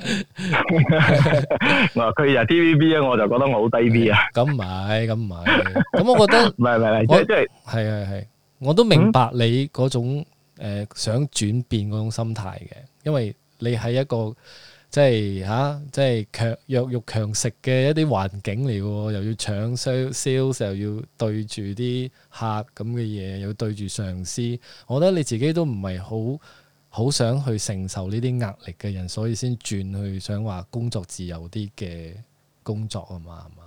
我話佢就 T V B 啊，我就覺得我好低 B 啊。 咁唔係咁唔係，咁我覺得唔係唔係唔係，即我係即係係係係，我都明白你嗰種誒想轉變嗰種心態嘅，因為你係一個即係嚇，即係強弱肉強食嘅一啲環境嚟嘅喎，又要搶 sales，又要對住啲客咁嘅嘢，又要對住上司，我覺得你自己都唔係好好想去承受呢啲壓力嘅人，所以先轉去想話工作自由啲嘅工作啊嘛，係嘛？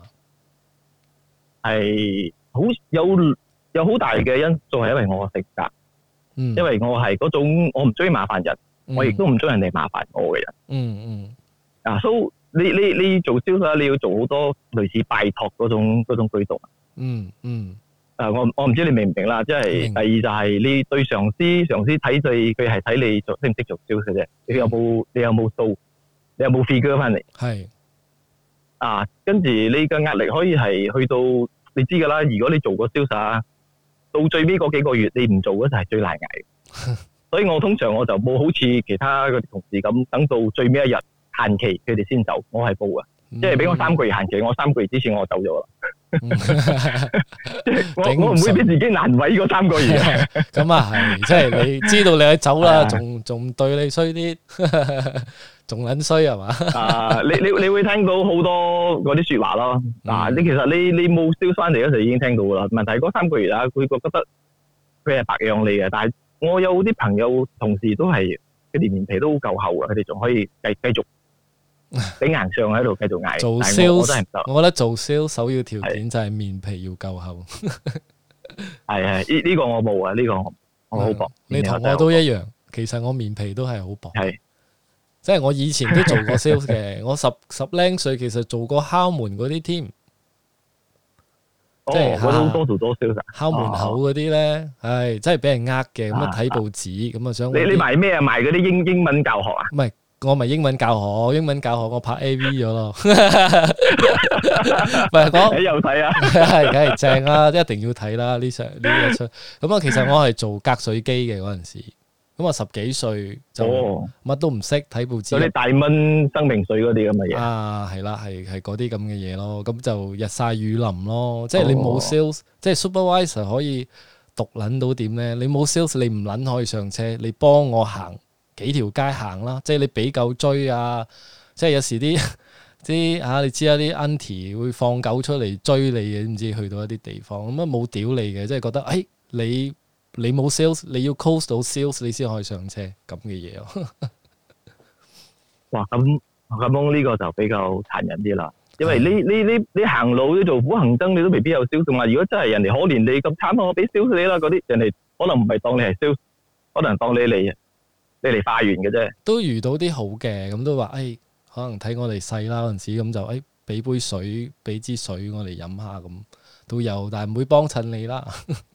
係好有有好大嘅因素係因為我嘅性格， 嗯， 因為我係嗰種我唔中意麻煩人， 嗯我亦都唔中意人哋麻煩我嘅人。 嗯嗯啊，so 你你你做銷售你要做好多類似拜託嗰種嗰種舉動。 嗯嗯誒，我我唔知你明唔明啦，即係明第二就係你對上司，上司睇你佢係睇你做識唔識做銷售啫，你有冇你有冇數，你有冇 figure 翻嚟係啊？跟住你嘅壓力可以係去到你知㗎啦，如果你做過銷售啊，到最尾嗰幾個月你唔做嗰就係最難捱。所以我通常我就冇好似其他嗰啲同事咁，等到最尾一日限期佢哋先走，我係冇嘅。即係俾我三個月限期，我三個月之前我走咗啦。即係我我唔會俾自己難為嗰三個月。 咁啊係，即係你知道你係走啦， 係啊仲仲對你衰啲，仲撚衰係嘛？ 啊，你你你會聽到好多嗰啲説話咯。嗱，你其實你你冇燒翻嚟嗰時已經聽到噶啦。問題嗰三個月啊，佢覺得佢係白養你嘅，但係我有啲朋友同事都係佢哋面皮都好夠厚嘅，佢哋仲可以繼繼續頂硬上喺度繼續捱。 做但係我我真係 sales， 唔得。 我覺得做 sales 首要條件就係面皮要夠厚。 係係呢呢個我冇啊，呢個我我好薄。 你同我都一樣，其實我面皮都係好薄。 係即係我以前都做過 sales 嘅，我十十零歲其實做過敲門嗰啲添， 哦， 即係我都多做多銷售。 敲門口嗰啲咧，唉，真係俾人呃嘅，咁啊睇報紙，咁啊想你你賣咩啊？賣嗰啲英英文教學啊？ 唔係我咪英文教學，英文教學我拍 A V 咗咯。唔係講你又睇啊？ 係梗係正啦，一定要睇啦呢出呢一出。咁啊，其實我係做隔水機嘅嗰陣時，咁啊十幾歲就乜都唔識，睇報紙。 嗰啲大蚊生命水嗰啲咁嘅嘢啊，係啦，係係嗰啲咁嘅嘢咯。咁就日曬雨淋咯，即係你冇 sales，即係 supervisor 可以獨撚到點咧？你冇 sales，你唔撚可以上車，你幫我行幾條街行啦，即係你俾狗追啊！即係有時啲啲啊，你知啊，啲 auntie 會放狗出嚟追你嘅，唔知去到一啲地方咁啊冇屌你嘅，即係覺得誒、哎、你你冇 sales，你要 close 到 sales 你先可以上車咁嘅嘢咯。 哇！咁咁呢個就比較殘忍啲啦，因為你你你你行路你做苦行僧，你都未必有 sales。同埋如果真係人哋可憐你咁慘，我俾 sales 你啦，嗰啲人哋可能唔係當你係 sales，可能當你嚟你嚟化緣嘅啫。都遇到啲好嘅，咁都話誒、哎，可能睇我哋細啦嗰陣時，咁就誒俾杯水，俾支水我哋飲下咁都有，但係唔會幫襯你啦。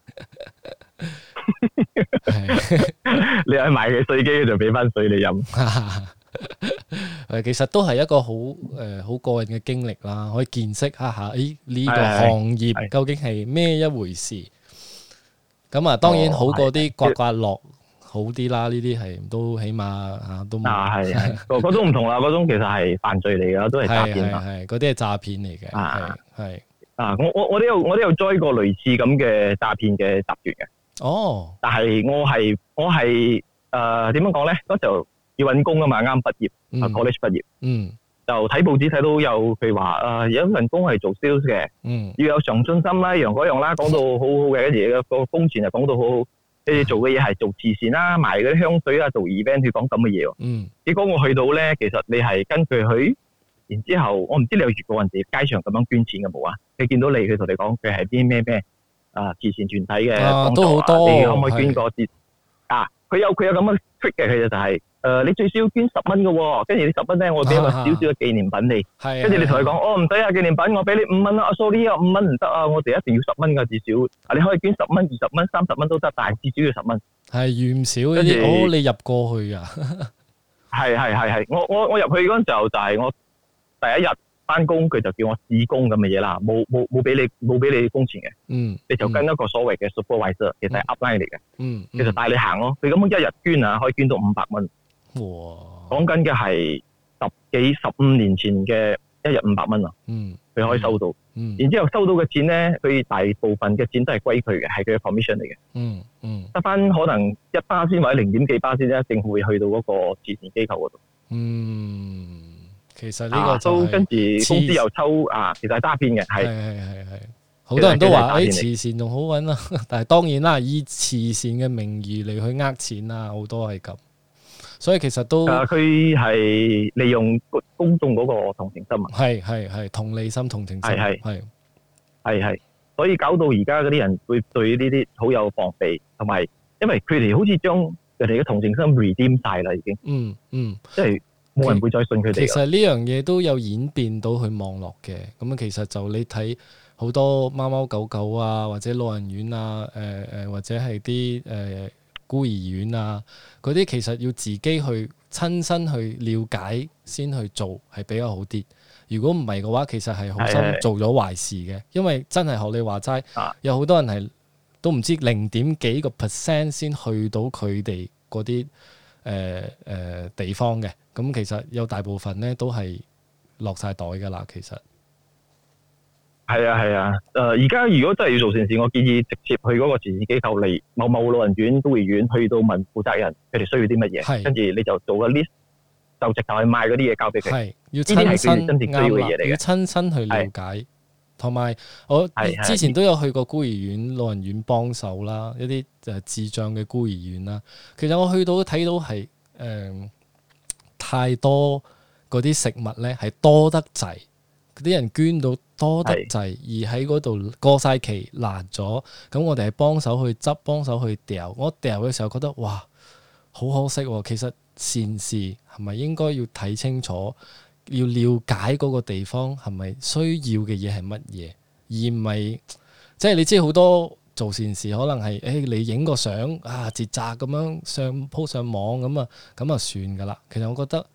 你去買嘅水機就俾翻水你飲。誒，其實都係一個好誒好過癮嘅經歷啦，可以見識一下誒呢個行業究竟係咩一回事。咁啊，當然好過啲刮刮樂好啲啦，呢啲係都起碼嚇都。啊，係係，嗰嗰種唔同啦，嗰種其實係犯罪嚟㗎，都係詐騙啦。係係，嗰啲係詐騙嚟嘅。係係啊，我我我都有我都有 join 過類似咁嘅詐騙嘅集團嘅。哦，但係我係我係誒點樣講咧？嗰時要揾工啊嘛，啱畢業，啊 college 畢業，嗯，就睇報紙睇到有佢話誒有一份工係做 sales 嘅，嗯，要有上進心啦，樣嗰樣啦，講到好好嘅，跟住個工錢又講到好好，跟住做嘅嘢係做慈善啦，賣嗰啲香水啊，做 event，佢講咁嘅嘢喎，嗯，結果我去到咧，其實你係跟佢去，然之後我唔知你有遇過人哋街上咁樣捐錢嘅冇啊？佢見到你，佢同你講佢係啲咩咩啊慈善團體嘅，啊都好多，你可唔可以捐個節啊？佢有佢有咁嘅 trick 嘅，佢就係、是。誒、呃，你最少要捐十蚊嘅喎，跟住你十蚊咧，我俾一個少少嘅紀念品你。係。跟住你同佢講，哦唔使啊，紀念品我俾你五蚊啦。啊 sorry 啊，五蚊唔得啊，我哋一定要十蚊㗎至少。啊，你可以捐十蚊、二十蚊、三十蚊都得，但係至少要十蚊。係預唔少呢啲，哦你入過去啊？係係係係，我我我入去嗰陣時候就係我第一日翻工，佢就叫我試工咁嘅嘢啦，冇冇冇俾你冇俾你工錢嘅。嗯。你就跟一個所謂嘅 supervisor，其實係 upline 嚟嘅。嗯。其實帶你行咯，佢咁樣一日捐啊，可以捐到五百蚊。哇！講緊嘅係十幾十五年前嘅一日五百蚊啊，嗯，佢可以收到，嗯，然之後收到嘅錢咧，佢大部分嘅錢都係歸佢嘅，係佢嘅 commission 嚟嘅，嗯嗯，得翻可能一巴仙或者零點幾巴仙咧，政府會去到嗰個慈善機構嗰度，嗯，其實呢個都跟住公司又抽啊，其實係詐騙嘅，係係係係，好多人都話誒慈善仲好揾啊，但係當然啦，以慈善嘅名義嚟去呃錢啊，好多係咁。所以其實都，誒佢係利用公眾嗰個同情心啊，係係係同理心、同情心，係係係係，所以搞到而家嗰啲人會對呢啲好有防備，同埋因為佢哋好似將人哋嘅同情心 redeem 晒啦，已經，嗯嗯，即係冇人會再信佢哋。其實呢樣嘢都有演變到去網絡嘅，咁啊其實就你睇好多貓貓狗狗啊，或者老人院啊，誒、呃、誒或者係啲誒。呃孤兒院啊，嗰啲其實要自己去親身去了解先去做係比較好啲。如果唔係嘅話，其實係好心做咗壞事嘅，因為真係學你話齋，有好多人係都唔知零點幾個 percent 先去到佢哋嗰啲誒誒地方嘅。咁其實有大部分咧都係落晒袋㗎啦，其實。係啊係啊，誒而家如果真係要做善事，我建議直接去嗰個慈善機構嚟某某老人院、孤兒院，去到問負責人佢哋需要啲乜嘢，跟住你就做個 list，就直頭去賣嗰啲嘢交俾佢。係要親身真正需要嘅嘢嚟嘅，要親身去了解。同埋我之前都有去過孤兒院、老人院幫手啦，一啲誒智障嘅孤兒院啦。其實我去到睇到係誒、呃、太多嗰啲食物咧，係多得滯。啲人捐到多得滯，而喺嗰度過晒期爛咗，咁我哋係幫手去執，幫手去掉。我掉嘅時候覺得哇，好可惜喎！其實善事係咪應該要睇清楚，要了解嗰個地方係咪需要嘅嘢係乜嘢，而唔係即係你知好多做善事可能係誒、欸、你影個相啊，截扎咁樣上 po 上網咁啊，咁啊算㗎啦。其實我覺得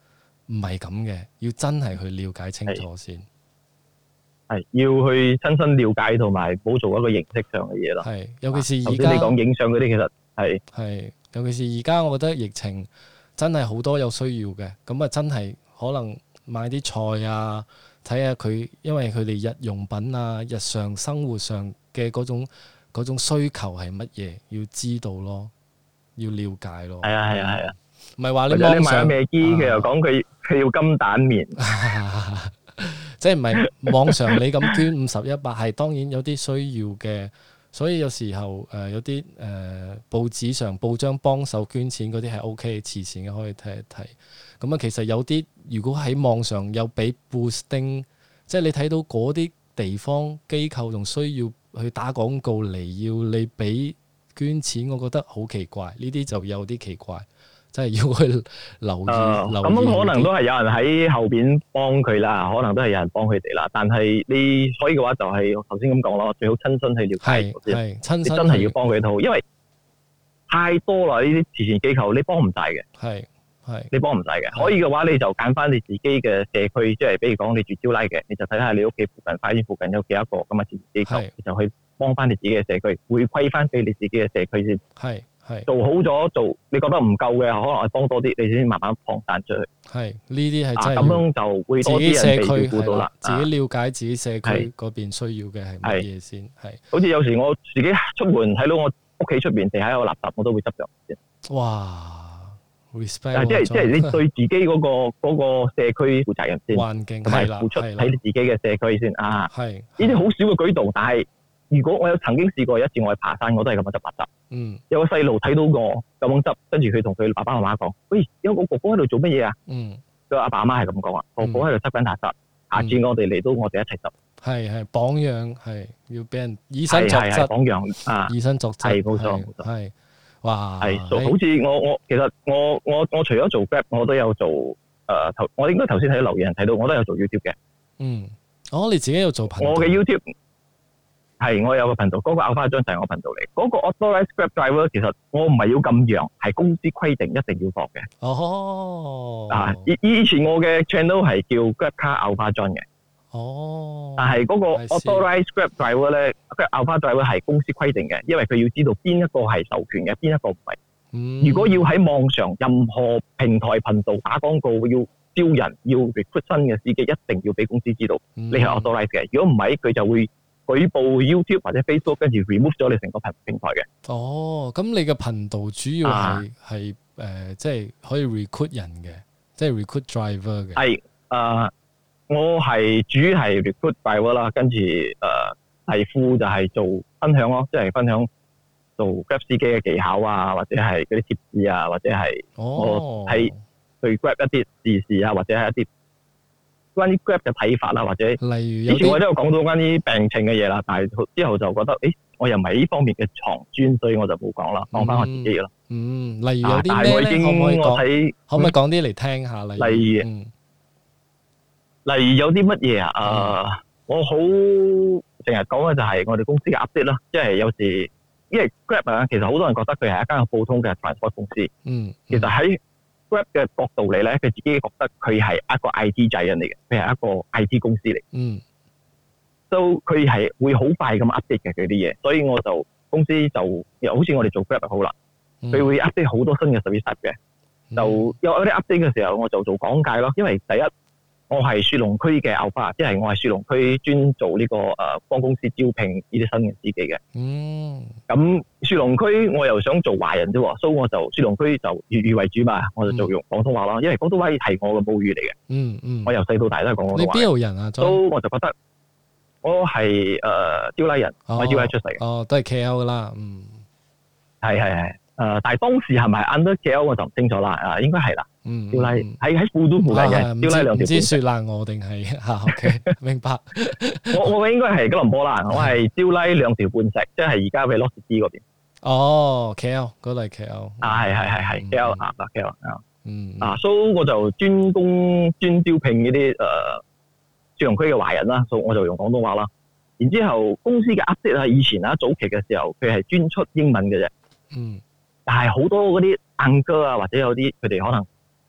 唔係咁嘅，要真係去了解清楚先。 係要去親身了解同埋冇做一個形式上嘅嘢咯。 係，尤其是而家你講影相嗰啲，其實係係，尤其是而家，我覺得疫情真係好多有需要嘅，咁啊真係可能買啲菜啊，睇下佢，因為佢哋日用品啊、日常生活上嘅嗰種嗰種需求係乜嘢，要知道咯，要了解咯。 係啊係啊係啊， 唔係話你或者網上你買咗咩機，佢又講佢佢要金蛋麵。 即係唔係網上你咁捐五十一百，係當然有啲需要嘅，所以有時候誒、呃、有啲誒、呃、報紙上報章幫手捐錢嗰啲係 O K 慈善嘅，可以睇一睇。咁啊，其實有啲如果喺網上有俾 boosting，即係你睇到嗰啲地方機構仲需要去打廣告嚟要你俾捐錢，我覺得好奇怪，呢啲就有啲奇怪。真係要去留意， 誒留意咁可能都係有人喺後邊幫佢啦，可能都係有人幫佢哋啦。但係你可以嘅話，就係我頭先咁講咯，最好親身去了解係先。 係親身你真係要幫佢一套，因為太多啦呢啲慈善機構，你幫唔晒嘅。 係係你幫唔晒嘅。可以嘅話，你就揀翻你自己嘅社區，即係比如講你住招拉嘅，你就睇下你屋企附近、花園附近有幾多個咁嘅慈善機構，你就去幫翻你自己嘅社區，回饋翻俾你自己嘅社區先。 係。 做好咗做，你覺得唔夠嘅，可能我幫多啲，你先慢慢擴散出去。 係呢啲係真係咁樣就會多啲人被照顧到啦。 自己了解自己社區嗰邊需要嘅係乜嘢先。係。 好似有時我自己出門睇到我屋企出邊地下有垃圾，我都會執咗先。 哇 ！respect。 即係即係你對自己嗰個嗰個社區負責任先， 環境同埋付出喺你自己嘅社區先啊。 係。 呢啲好少嘅舉動，但係如果我有曾經試過一次，我去爬山，我都係咁樣執垃圾。 嗯， 有個細路睇到我咁樣執，跟住佢同佢爸爸媽媽講：喂，有個哥哥喺度做乜嘢啊？ 嗯， 個阿爸阿媽係咁講啊，哥哥喺度執緊垃圾，下次我哋嚟到我哋一齊執。 係係榜樣，係要俾人以身作則。 榜樣啊， 以身作則。 係冇錯冇錯。 係，哇！ 係，好似我我其實我我我除咗做 Grab，我都有做誒頭，我應該頭先睇到留言睇到，我都有做 YouTube 嘅。 嗯，哦，你自己有做頻道？ 我嘅 YouTube。係，我有個頻道，嗰、那個咬花張就係我頻道嚟。嗰、那個 Authorized Grab Driver 其實我唔係要咁樣，係公司規定一定要放嘅。 哦， 啊，以以前我嘅 channel 係叫 Grab Car 咬花張嘅。 哦， 但係嗰個 Authorized Grab Driver 咧，Grab 咬花 Driver 係公司規定嘅，因為佢要知道邊一個係授權嘅，邊一個唔係。 嗯、 如果要喺網上任何平台頻道打廣告，要招人，要 recruit 新嘅司機，一定要俾公司知道你係 Authorized 嘅。如果唔係，佢就會舉報 YouTube 或者 Facebook， 跟住 remove 咗你成個平平台嘅。 哦，咁你嘅頻道主要係係誒，即係可以 recruit 人嘅，即係 recruit driver 嘅。 係誒、呃，我係主要係 recruit driver 啦，跟住誒第副就係做分享咯，即係分享做 Grab 司機嘅技巧啊，或者係嗰啲貼士啊，或者係我睇對 Grab 一啲時事啊，或者係一啲關於 Grab 嘅睇法啦，或者例如以前我都有講到關於病情嘅嘢啦，但係之後就覺得，誒，我又唔係呢方面嘅藏專，所以我就冇講啦，講翻我自己啦。 嗯，例如有啲咩咧？可唔可以我睇可唔可以講啲嚟聽下？例如， 例如， 嗯、 例如有啲乜嘢啊？誒、呃嗯，我好成日講嘅就係我哋公司嘅 update 啦，即係有時因為 Grab 啊，其實好多人覺得佢係一間普通嘅 transport 公司， 嗯，嗯其實喺Grab 嘅角度嚟咧，佢自己覺得佢係一個 I T 仔人嚟嘅，佢係一個 I T 公司嚟。 嗯， 都佢係會好快咁 update 嘅佢啲嘢，所以我就公司就又好似我哋做 Grab 就好啦，佢、嗯、會 update 好多新嘅 service 嘅，嗯、就有啲 update 嘅時候，我就做講解咯。因為第一，我係雪隆區嘅 Alpha，即係我係雪隆區專做呢、這個誒幫、呃、公司招聘呢啲新嘅司機嘅。嗯，咁雪隆區我又想做華人啫喎，所以我就雪隆區就粵語為主嘛，我就做用廣東話咯。因為廣東話係我嘅母語嚟嘅。嗯嗯，我由細到大都係講廣東話。 你邊度人啊？ 所以我就覺得我係誒招拉人， 哦、 我係招拉出世嘅。 哦，都係 K L 噶啦。嗯， 係係係。誒、呃，但係當時係咪 under K L 我就唔清楚啦。啊，應該係啦。嗯，招拉喺喺富都附近嘅，招拉兩條。 唔知雪蘭莪定係嚇？OK，明白。 我我應該係吉隆坡啦，我係招拉兩條半石，即係而家嘅 Velocity 嗰邊。 哦 ，K L 嗰度係 K L。 啊，係係係係 K L 啊，K L 啊。 嗯。 啊，所以我就專攻專招聘呢啲誒雪隆區嘅華人啦，所以我就用廣東話啦。然之後公司嘅 update 啊，以前啊早期嘅時候，佢係專出英文嘅啫。嗯。但係好多嗰啲硬哥啊，或者有啲佢哋可能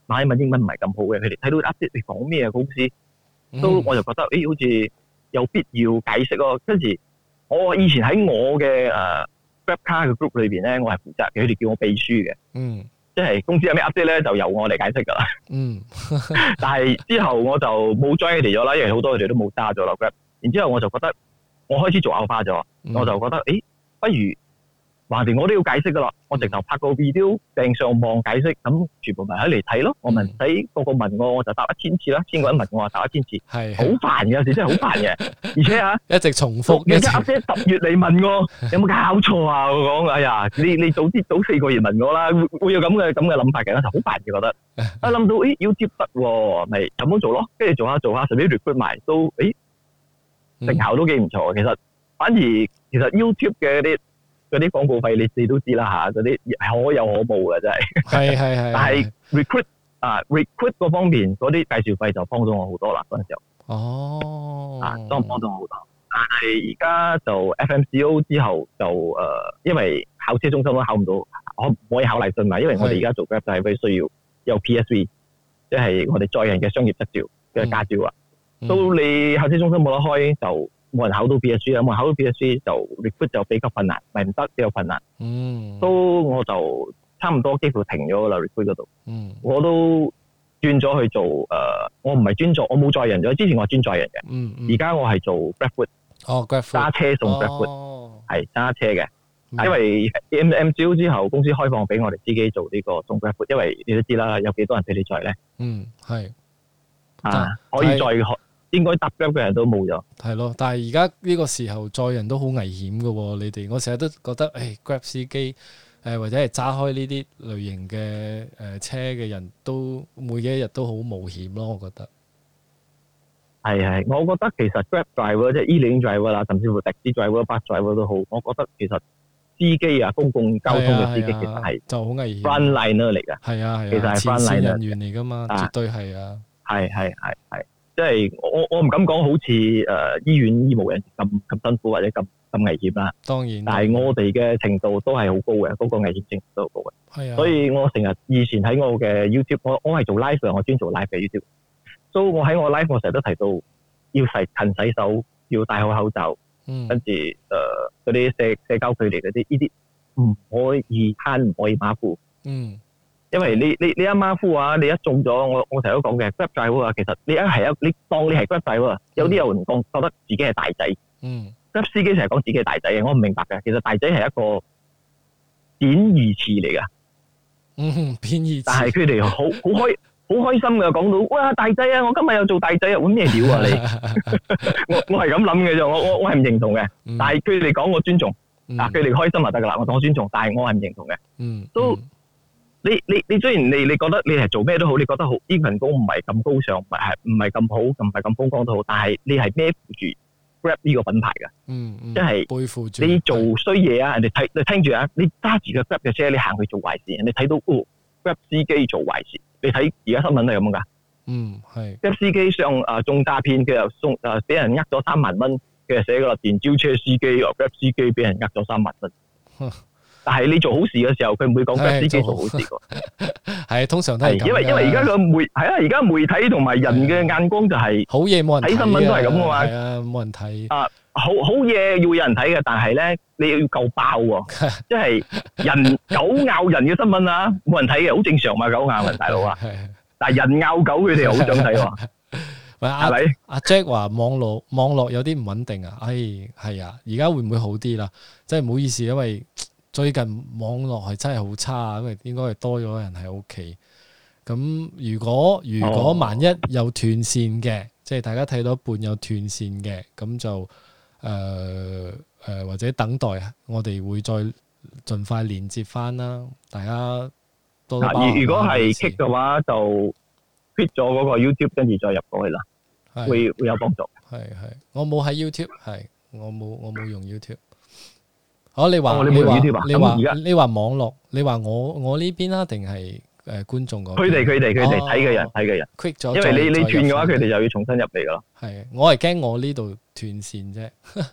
馬來文英文唔係咁好嘅，佢哋睇到 update 你講咩啊公司，都我就覺得誒、欸、好似有必要解釋咯。跟住我以前喺我嘅誒 GrabCar 嘅 group 裏邊咧，我係負責嘅，佢哋叫我秘書嘅。 嗯。 即係公司有咩 update 咧，就由我嚟解釋㗎啦。 嗯。 但係之後我就冇 join 佢哋咗啦，因為好多佢哋都冇揸咗啦 Grab。然之後我就覺得我開始做 alpha 咗， 嗯、 我就覺得誒，不如橫掂我都要解釋㗎啦，我直頭拍個 video 掟上網解釋，咁全部咪喺嚟睇咯。我唔使個個問我，我就答一千次啦。千個人問我，我答一千次，係好煩嘅，有時真係好煩嘅。而且啊， 一直重複， 人家 update 十月嚟問我，有冇搞錯啊？我講哎呀，你你早啲早四個月問我啦，會會有咁嘅咁嘅諗法嘅，就好煩嘅覺得。一諗到誒 YouTube 得喎，咪咁樣做咯，跟住做下做下，順便 recruit 埋都誒成效都幾唔錯。其實反而其實 YouTube 嘅啲嗰啲廣告費你你都知啦嚇，嗰啲可有可無嘅真係。係係係。但係 recruit 啊 recruit 嗰方面嗰啲介紹費就幫到我好多啦嗰陣時候。 哦。 啊，幫幫到我好多。但係而家就 F M C O 之後就誒、呃，因為考車中心都考唔到，可唔可以考嚟信埋？因為我哋而家做 Grab 就係佢需要有 P S V， 即係我哋載人嘅商業執照嘅駕照啊。到、嗯、你考車中心冇得開就。冇人考到 P S V 啊！冇人考到 P S V 就 recruit 就比較困難，咪唔得比較困難。嗯，都我就差唔多幾乎停咗啦 recruit 嗰度。嗯，我都轉咗去做誒、呃，我唔係專做，我冇載人咗。之前我係專載人嘅。嗯嗯。而家我係做 GrabFood。哦 ，GrabFood。揸車送 GrabFood。哦。係揸車嘅，因為 M M C O 之後公司開放俾我哋自己做呢個送 GrabFood，因為你都知啦，有幾多人俾你載咧？嗯，係。啊，可以載學。應該搭 Grab 嘅人都冇咗， 係咯。但係而家呢個時候載人都好危險㗎喎，你哋我成日都覺得，誒 Grab 司機誒、呃、或者係揸開呢啲類型嘅誒、呃、車嘅人都每一日都好冒險咯，我覺得。 係係，我覺得其實 Grab driver 即係 e-lane driver 啦，甚至乎的士 driver、bus driver 都好，我覺得其實司機啊，公共交通嘅司機其實係就好危險 frontliner 嚟㗎， 係啊係啊， 其實係 frontliner 人員嚟㗎嘛，絕對係啊， 係係係係。即係我我唔敢講好似誒、呃、醫院醫務人咁咁辛苦或者咁咁危險啦。當然，但係我哋嘅程度都係好高嘅，嗰、那個危險性都好高嘅。係啊，所以我成日以前喺我嘅 YouTube， 我我係做 live 嘅，我專做 live 嘅 YouTube。所以我喺我 live 我成日都提到要洗勤洗手，要戴好口罩，嗯、跟住誒嗰啲社社交距離嗰啲，呢啲唔可以慳，唔可以馬虎。嗯。因為你你你一馬虎啊，你一中咗，我我成日都講嘅 Grab driver 啊，其實你一係一你當你係 Grab driver 啊，有啲人講覺得自己係大仔，嗯 Grab 司機成日講自己係大仔嘅，我唔明白嘅，其實大仔係一個貶義詞嚟噶，嗯，貶義詞，但係佢哋好好開好開心嘅講到，哇大仔啊，我今日又做大仔啊，搵咩料啊你？我我係咁諗嘅啫，我我我係唔認同嘅，嗯、但係佢哋講我尊重，嗯、啊佢哋開心就得噶啦，我當我尊重，但係我係唔認同嘅，嗯，都。嗯你你你雖然你你覺得你係做咩都好，你覺得好呢份工唔係咁高尚，唔係唔係咁好，唔係咁風光都好，但係你係孭負住 Grab 呢個品牌噶，嗯嗯，即係背負住你做衰嘢啊！人哋睇你聽住啊，你揸住個 Grab 嘅車，你行去做壞事，人哋睇到哦 Grab 司機做壞事，你睇而家新聞都係咁噶，嗯係 Grab 司機上誒中詐騙，佢又送誒俾人呃咗三萬蚊，佢又寫個電召車司機，Grab 司機俾人呃咗三萬蚊。但係你做好事嘅時候，佢唔會講 Grab 司機做好事㗎。係通常都係因為因為而家個媒係啊，而家媒體同埋人嘅眼光就係好嘢冇人睇，睇新聞都係咁嘅嘛。係啊，冇人睇啊，好好嘢要有人睇嘅，但係咧你要夠爆喎，即係人狗咬人嘅新聞啊，冇人睇嘅，好正常嘛，狗咬人大佬啊。但係人咬狗佢哋好想睇喎。係咪？阿 Jack 話網絡網絡有啲唔穩定啊，唉係啊，而家會唔會好啲啦？真係唔好意思，因為最近網絡係真係好差，因為應該係多咗人喺屋企。咁如果如果萬一有斷線嘅，哦、即係大家睇到一半有斷線嘅，咁就誒誒、呃呃、或者等待，我哋會再盡快連接翻啦。大家多多包涵。如果係 kick 嘅話，就 quit 咗嗰個 YouTube， 跟住再入過去啦，是會會有幫助。係係，我冇喺 YouTube， 係我冇我冇用 YouTube。哦，你話、哦、你話你話你話網絡，你話我我呢邊啊，定係誒觀眾嗰邊？佢哋佢哋佢哋睇嘅人睇嘅人 quit 咗，因為你你斷嘅話，佢哋就要重新入嚟噶咯。係，我係驚我呢度斷線啫。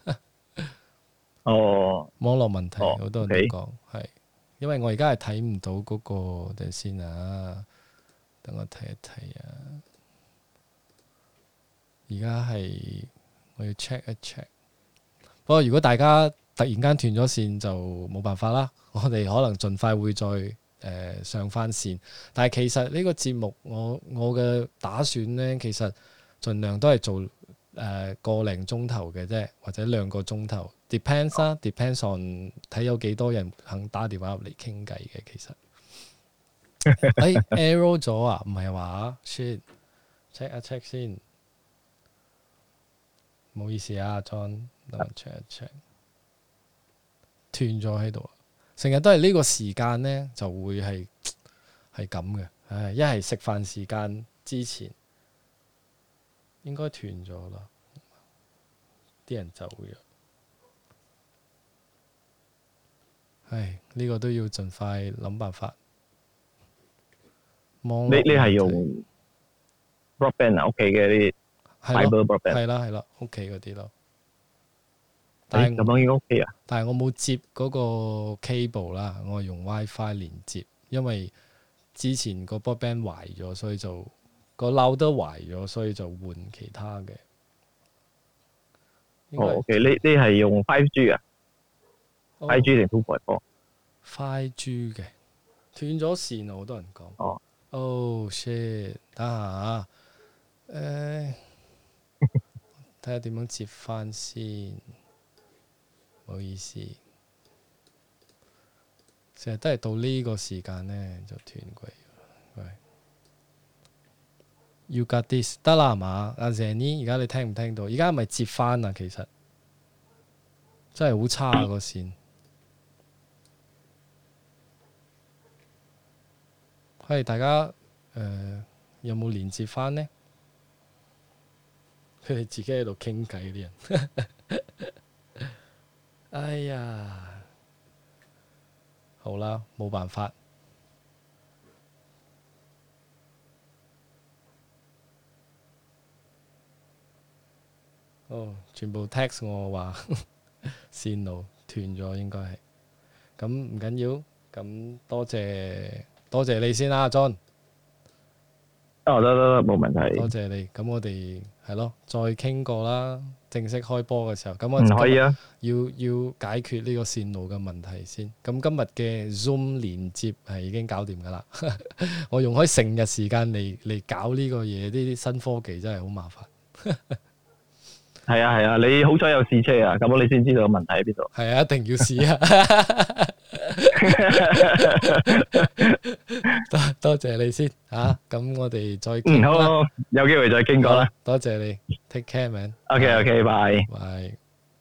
哦，網絡問題好、哦、多人都講係，因為我而家係睇唔到嗰個，等先啊。 等我睇一睇啊！而家係我要 check 一 check。不過如果大家突然間斷咗線，就冇辦法啦。我哋可能盡快會再誒、呃、上翻線。但係其實呢個節目我我嘅打算呢，其實盡量都係做誒、呃、個零鐘頭嘅啫，或者兩個鐘頭。Depends 啦、啊、，depends on 睇有幾多人肯打電話入嚟傾偈嘅。其實，誒 error 咗啊？唔係話 shit，check 一 check 先。唔好意思啊 ，John，等我 check 一 check。斷咗喺度，成日都係呢個時間呢，就會係係咁嘅。唉，一係食飯時間之前應該斷咗啦，啲人走咗。唉，呢、這個都要盡快諗辦法。你你係用 broadband 啊？屋企嘅啲 fiber broadband 係啦係啦，屋企嗰啲咯。 但係咁樣應該 OK 啊？ 但係我冇接嗰個 cable 啦，我係用 WiFi 連接，因為之前個 broadband 壞咗，所以就個 router 壞咗，所以就換其他嘅。 哦 ，OK，你你係用 five G 啊？five G 定 two point four？five G 嘅斷咗線啊！好多人講。 哦。 Oh shit！等下啊，誒，睇下點樣接翻先。唔好意思，成日都係到呢個時間呢，就斷鬼。喂 You got this 得啦係嘛？阿 Zenny，而家你聽唔聽到？而家係咪接翻啊？其實真係好差啊個線。係大家誒、呃、有冇連接翻呢？佢哋自己喺度傾偈啲人。哎呀，好啦，冇辦法。哦，全部 text 我話線路斷咗，應該係。咁唔緊要，咁多謝多謝你先啦，John。 哦，得得得，冇問題。 多謝你。咁我哋係咯，再傾過啦。正式開波嘅時候，咁我唔可以啊， 要要解決呢個線路嘅問題先。咁今日嘅 Zoom 連接係已經搞掂㗎啦。我用開成日時間嚟嚟搞呢個嘢，呢啲新科技真係好麻煩。 係啊係啊，你好彩有試車啊，咁你先知道問題喺邊度。 係啊，一定要試啊！多多謝你先嚇，咁我哋再傾啦。 嗯，好，好，有機會再傾過啦。 多謝你 ，take care man。 OK OK，拜拜。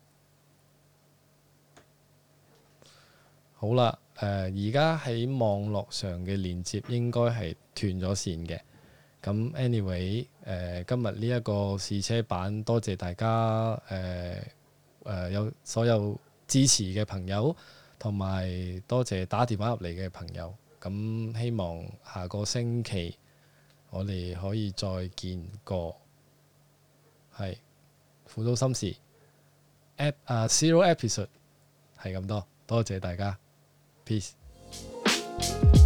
好啦，誒而家喺網絡上嘅連接應該係斷咗線嘅。咁 anyway，誒、呃、今日呢一個試車版，多謝大家誒誒、呃呃、有所有支持嘅朋友，同埋多謝打電話入嚟嘅朋友。咁希望下個星期我哋可以再見過。係輔導心事 app 啊 zero episode 係咁多，多謝大家 ，peace。